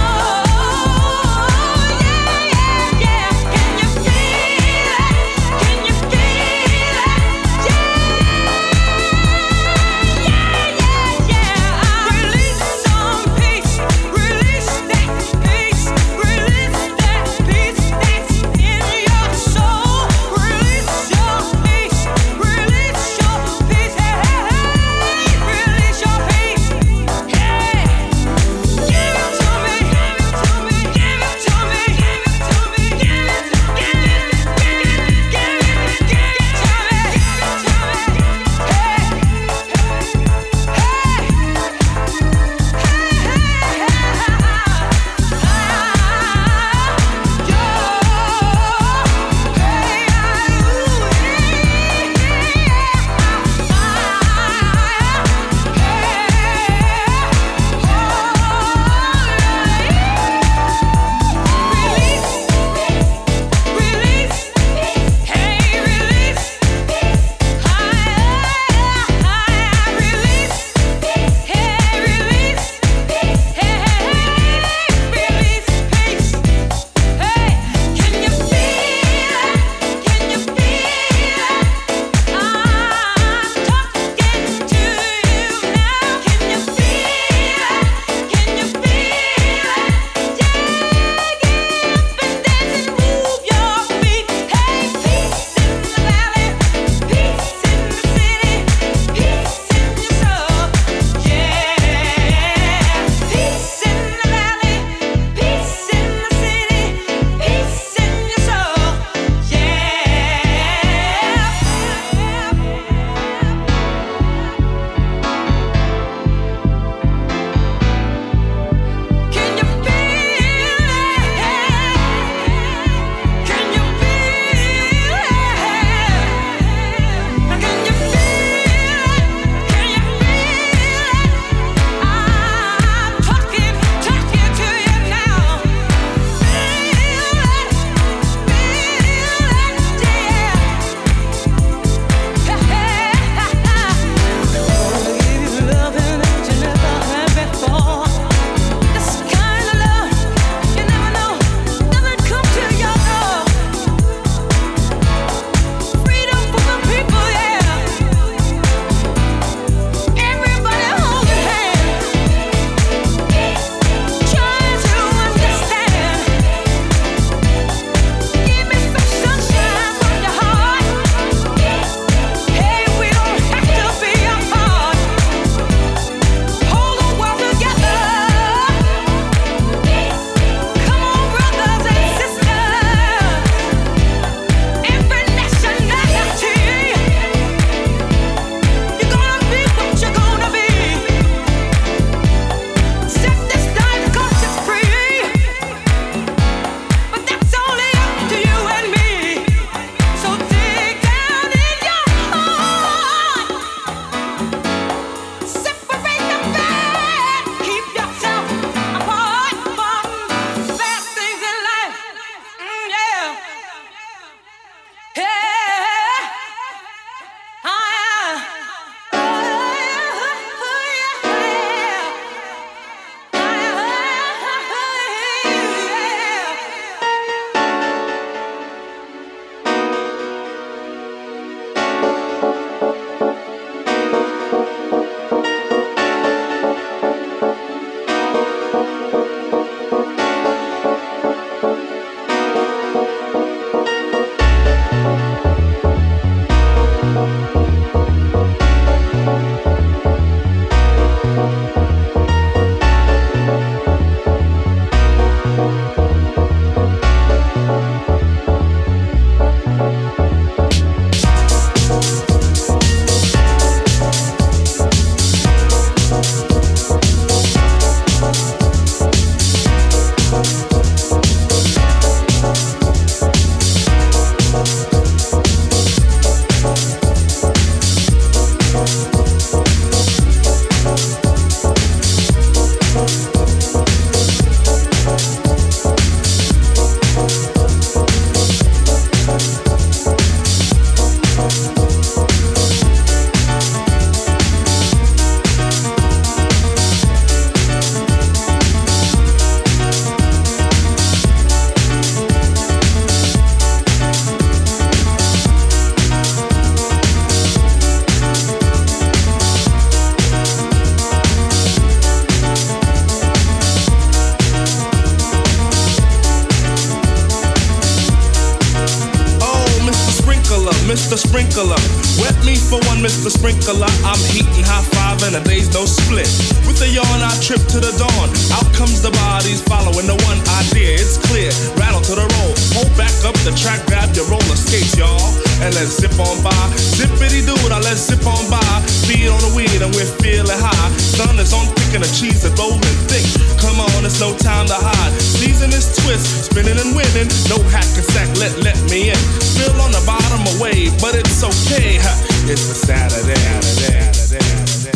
S11: Mister Sprinkler. Wet me for one, Mister Sprinkler. I'm heating high five and a day's no split. With a yawn, I trip to the dawn. Out comes the bodies following the one idea. It's clear. Rattle to the roll. Hold back up the track, grab your roller skates, y'all. And let's zip on by. Zippity dude, I let's zip on by. Feed on the weed and we're feeling high. Sun is on picking a cheese and rolling thick. Come on, it's no time to hide. Season is twist, spinning and winning. No hack and sack, let let me in. Still on the bottom away, but it's okay. It's a Saturday, Saturday, Saturday, Saturday.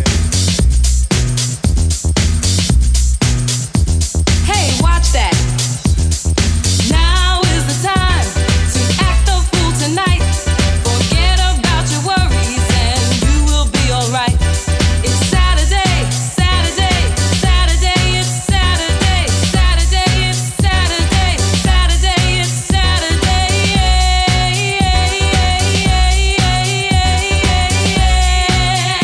S6: Hey, watch that. Now is the time to act the fool tonight. Forget about your worries and you will be alright. It's Saturday, Saturday, Saturday, it's Saturday, Saturday, it's Saturday, Saturday, it's Saturday. Yeah, yeah, yeah, yeah, yeah, yeah.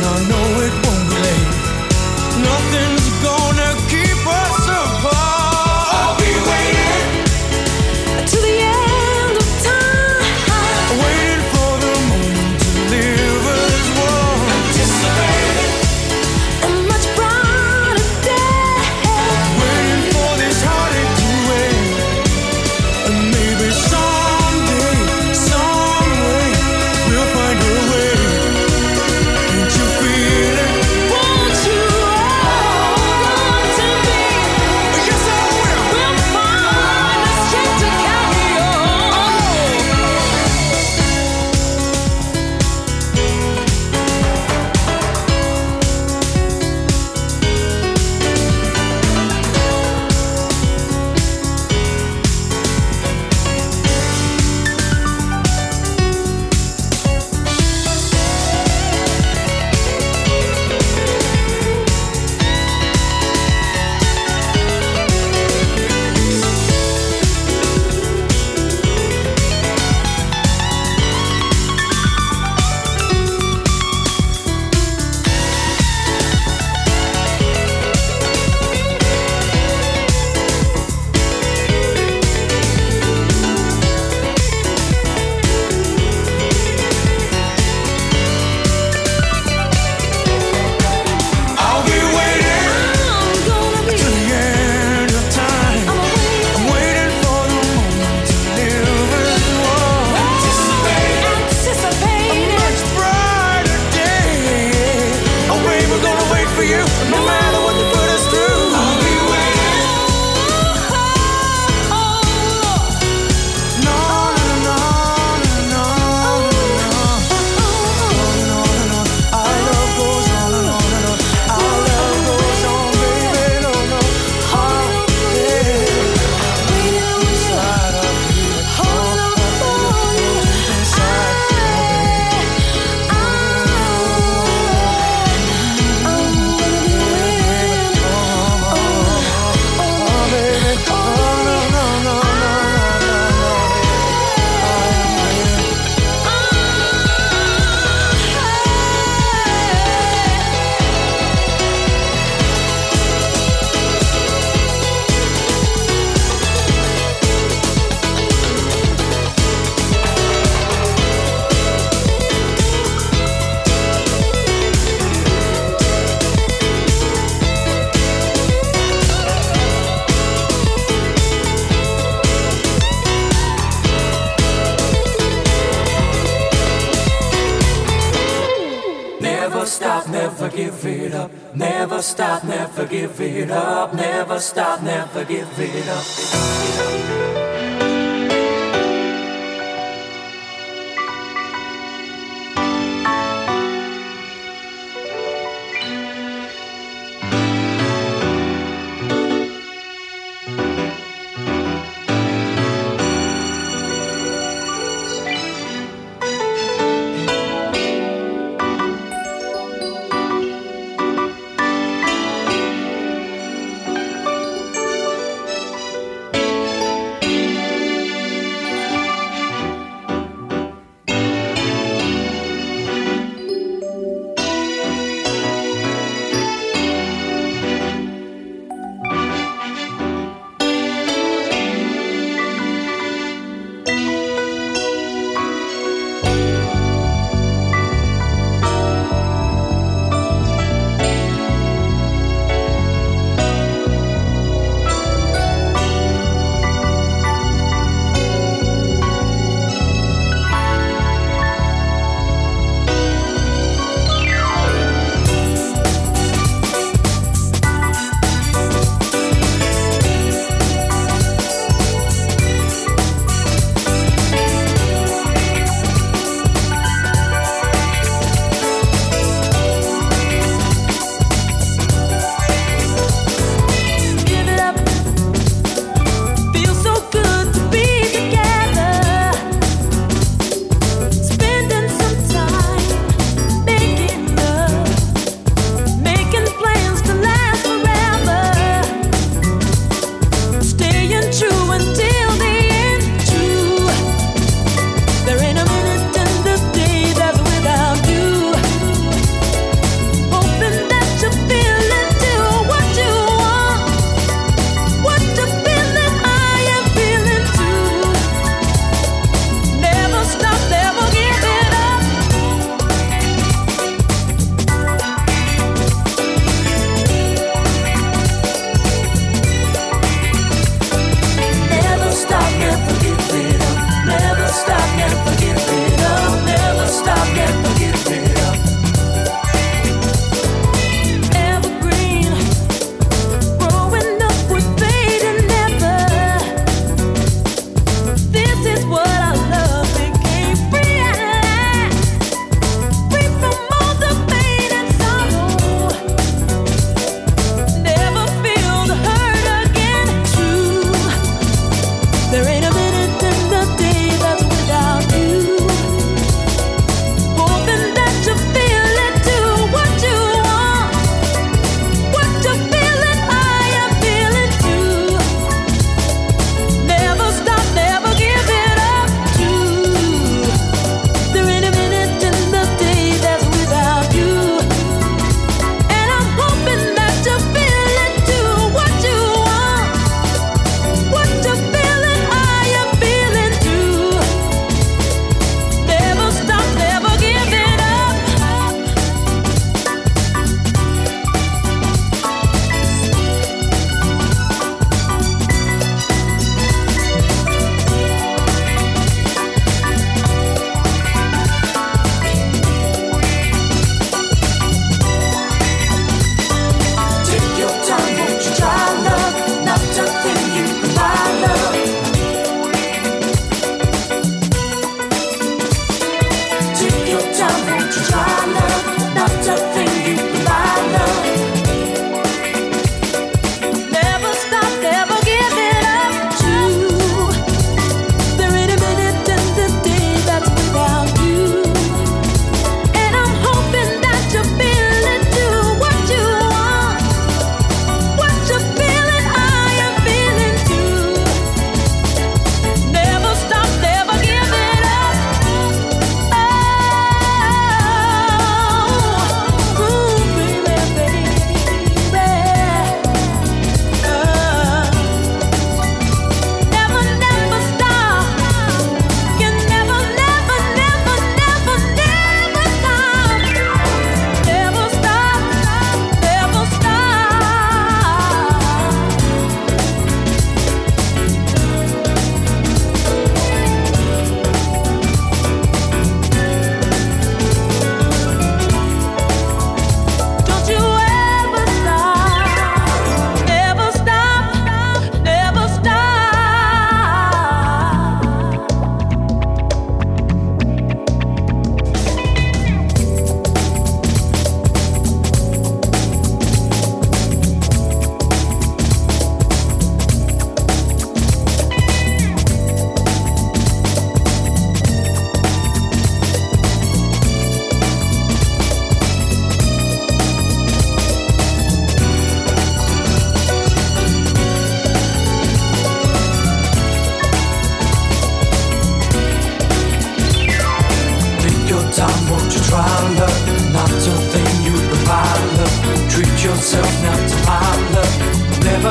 S7: never give it up. Never stop, never give it up. Never stop, never give it up.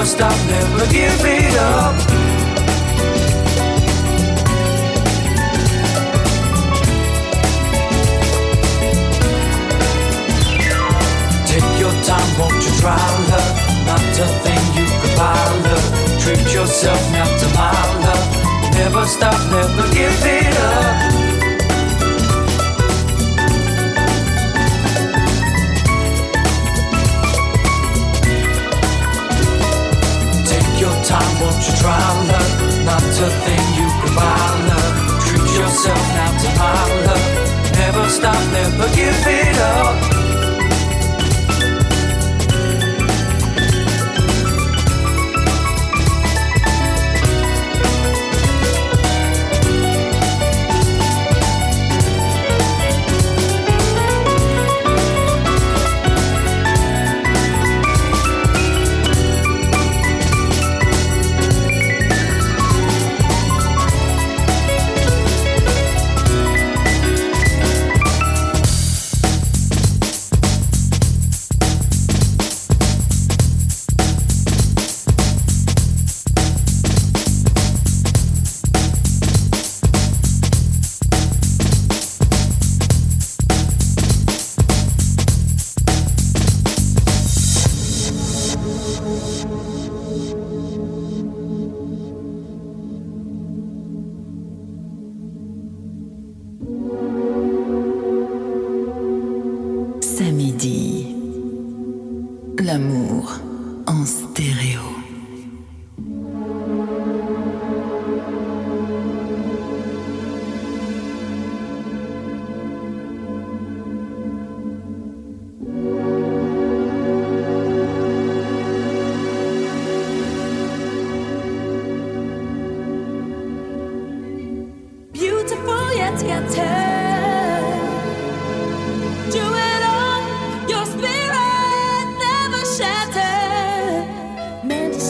S7: Never stop, never give it up. Take your time, won't you try love? Not a thing you could buy love. Treat yourself now to my love. Never stop, never give it up. Time, won't you try love? Not a thing you can buy love. Treat yourself now to my love. Never stop, never give it up.
S1: L'amour en stéréo.
S8: Beautiful yet scattered. Do it all, your spirit never shattered. Meant to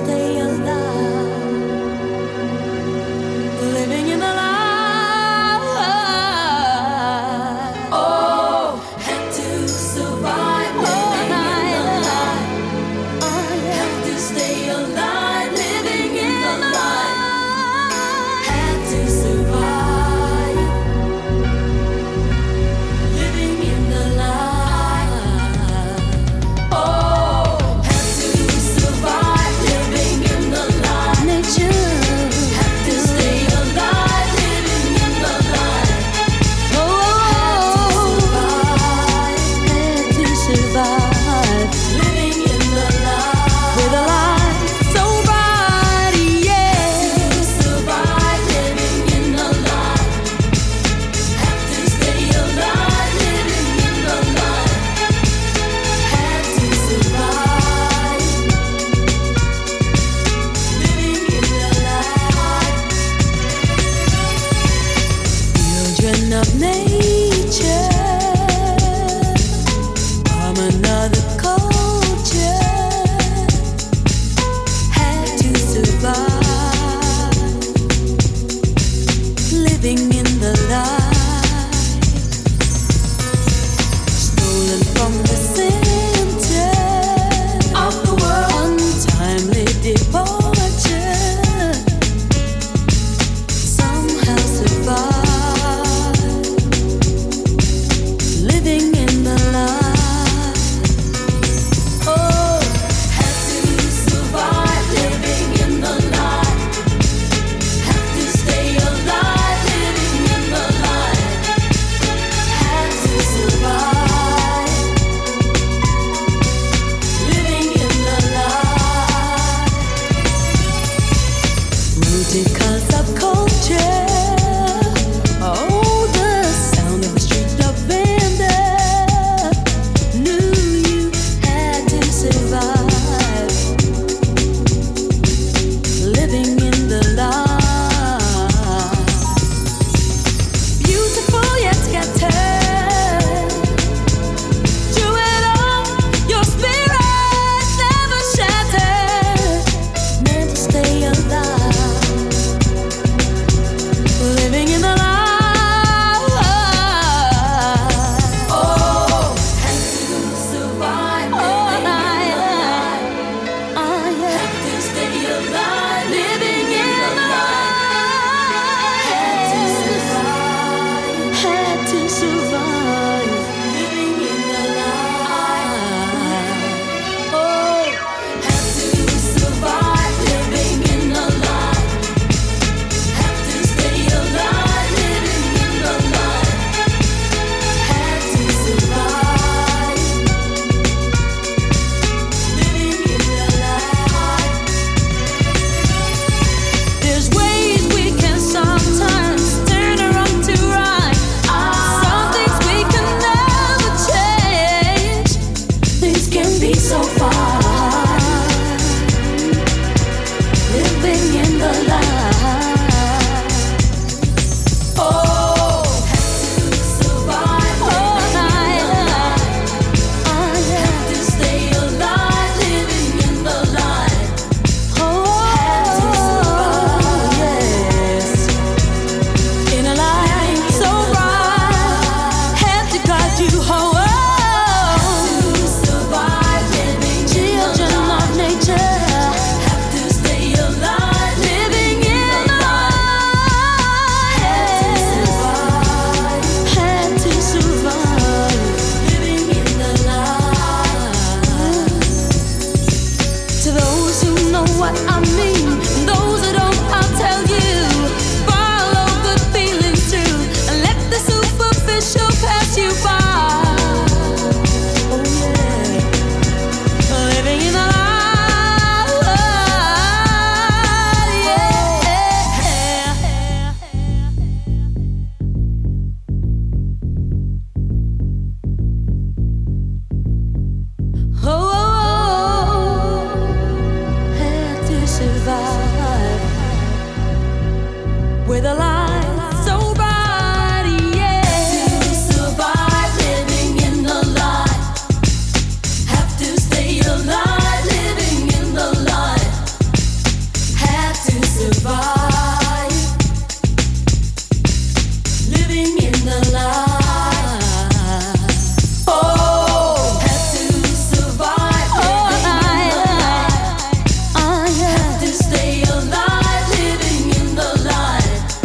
S8: so far, living in the light. Oh, have to survive living in the light. I have to stay alive living in the light. Oh, have to survive, yes, in a light so bright. Have to guide you home. What I mean, those who don't, I'll tell you. Follow good feelings too, and let the superficial pass you by. Oh yeah, living in the light, yeah. Oh. With a light so bright, yeah. To survive living in the light, have to stay alive living in the light, have to survive living in the light. Oh, have to survive living in the light. I have to stay alive living in the light.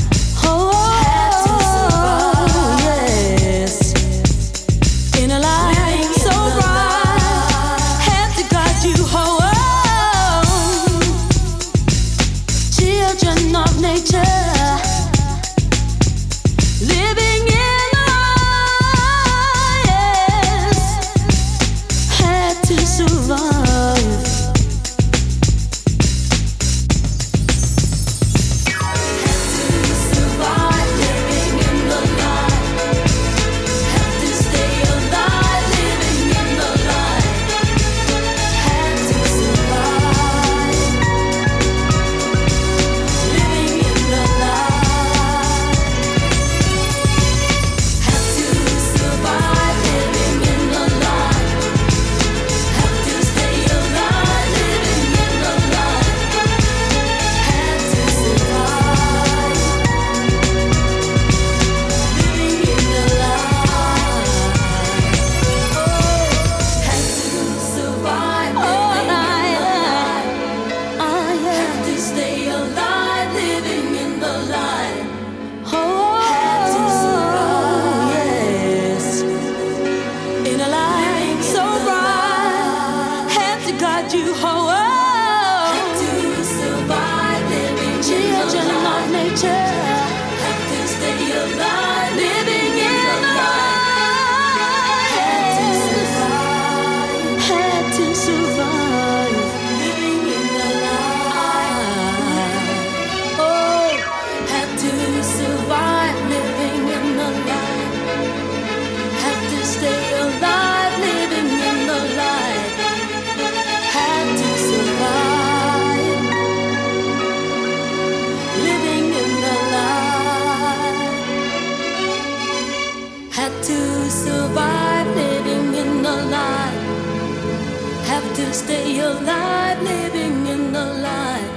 S8: Stay alive, living in the light.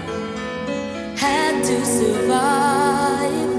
S8: Had to survive.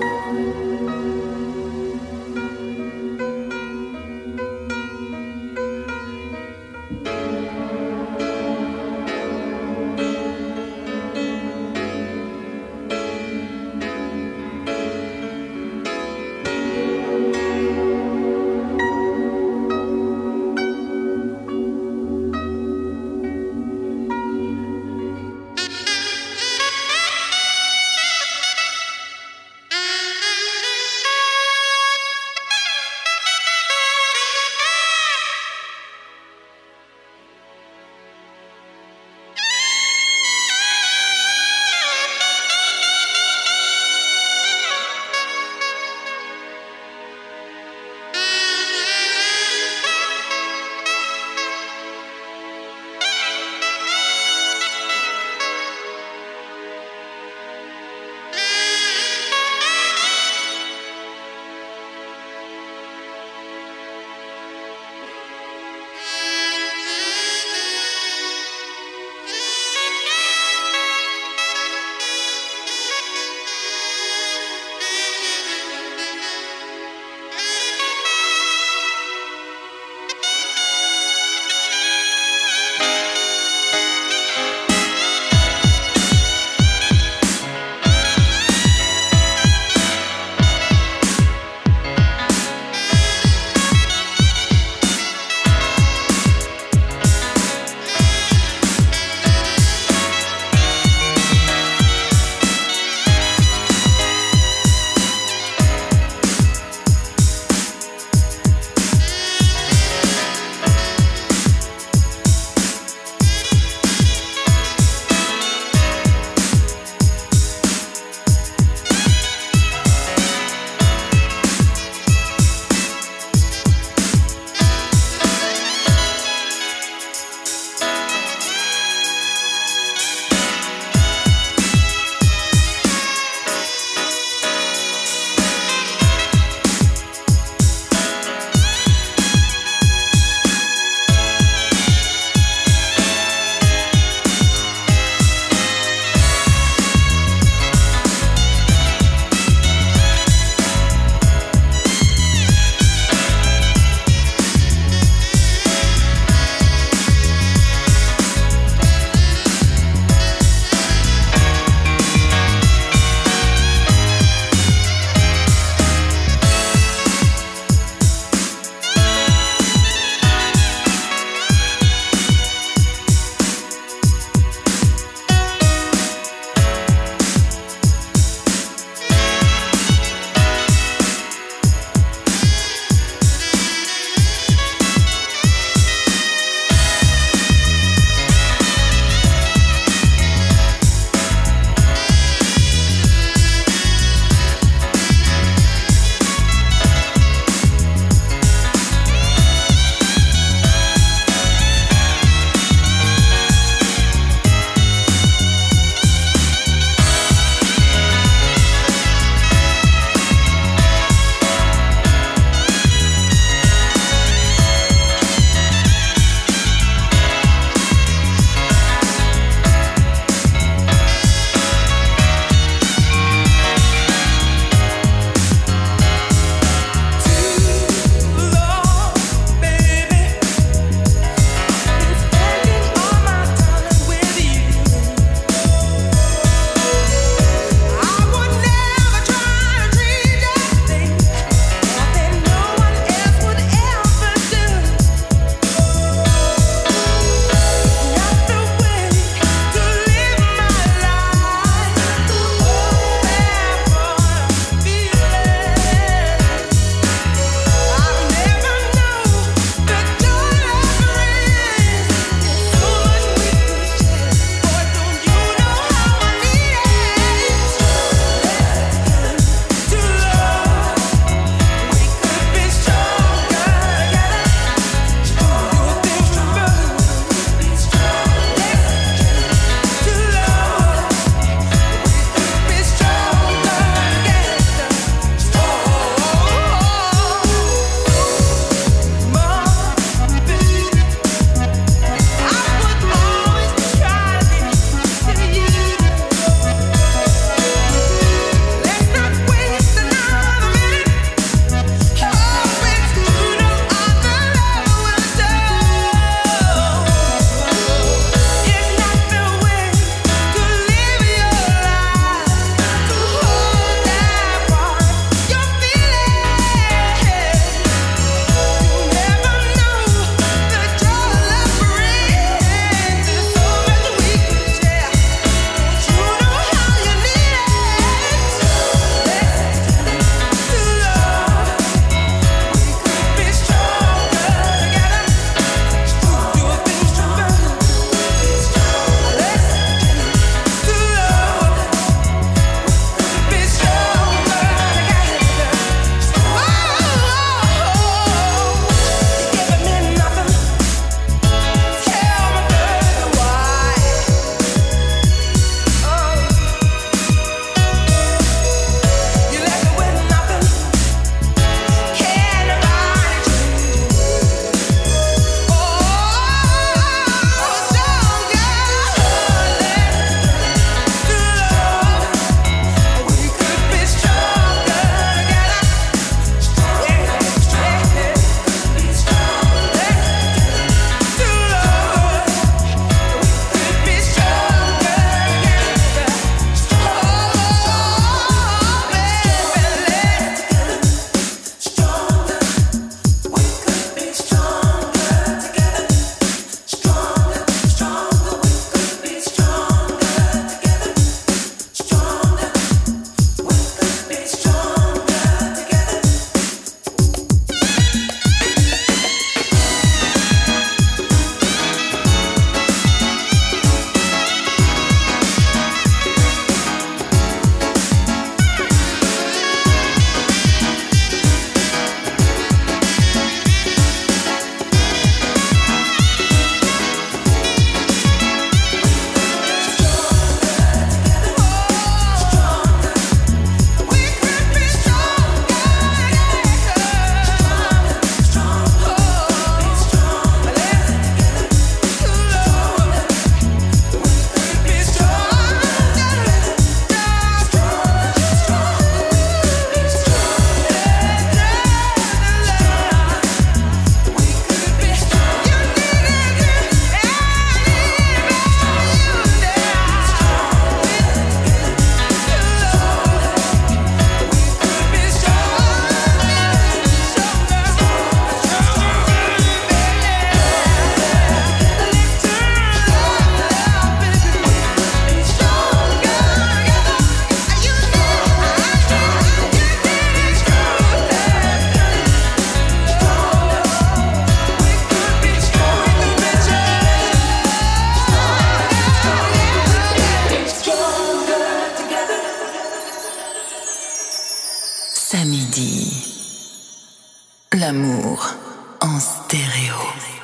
S1: Samedi. L'amour en stéréo.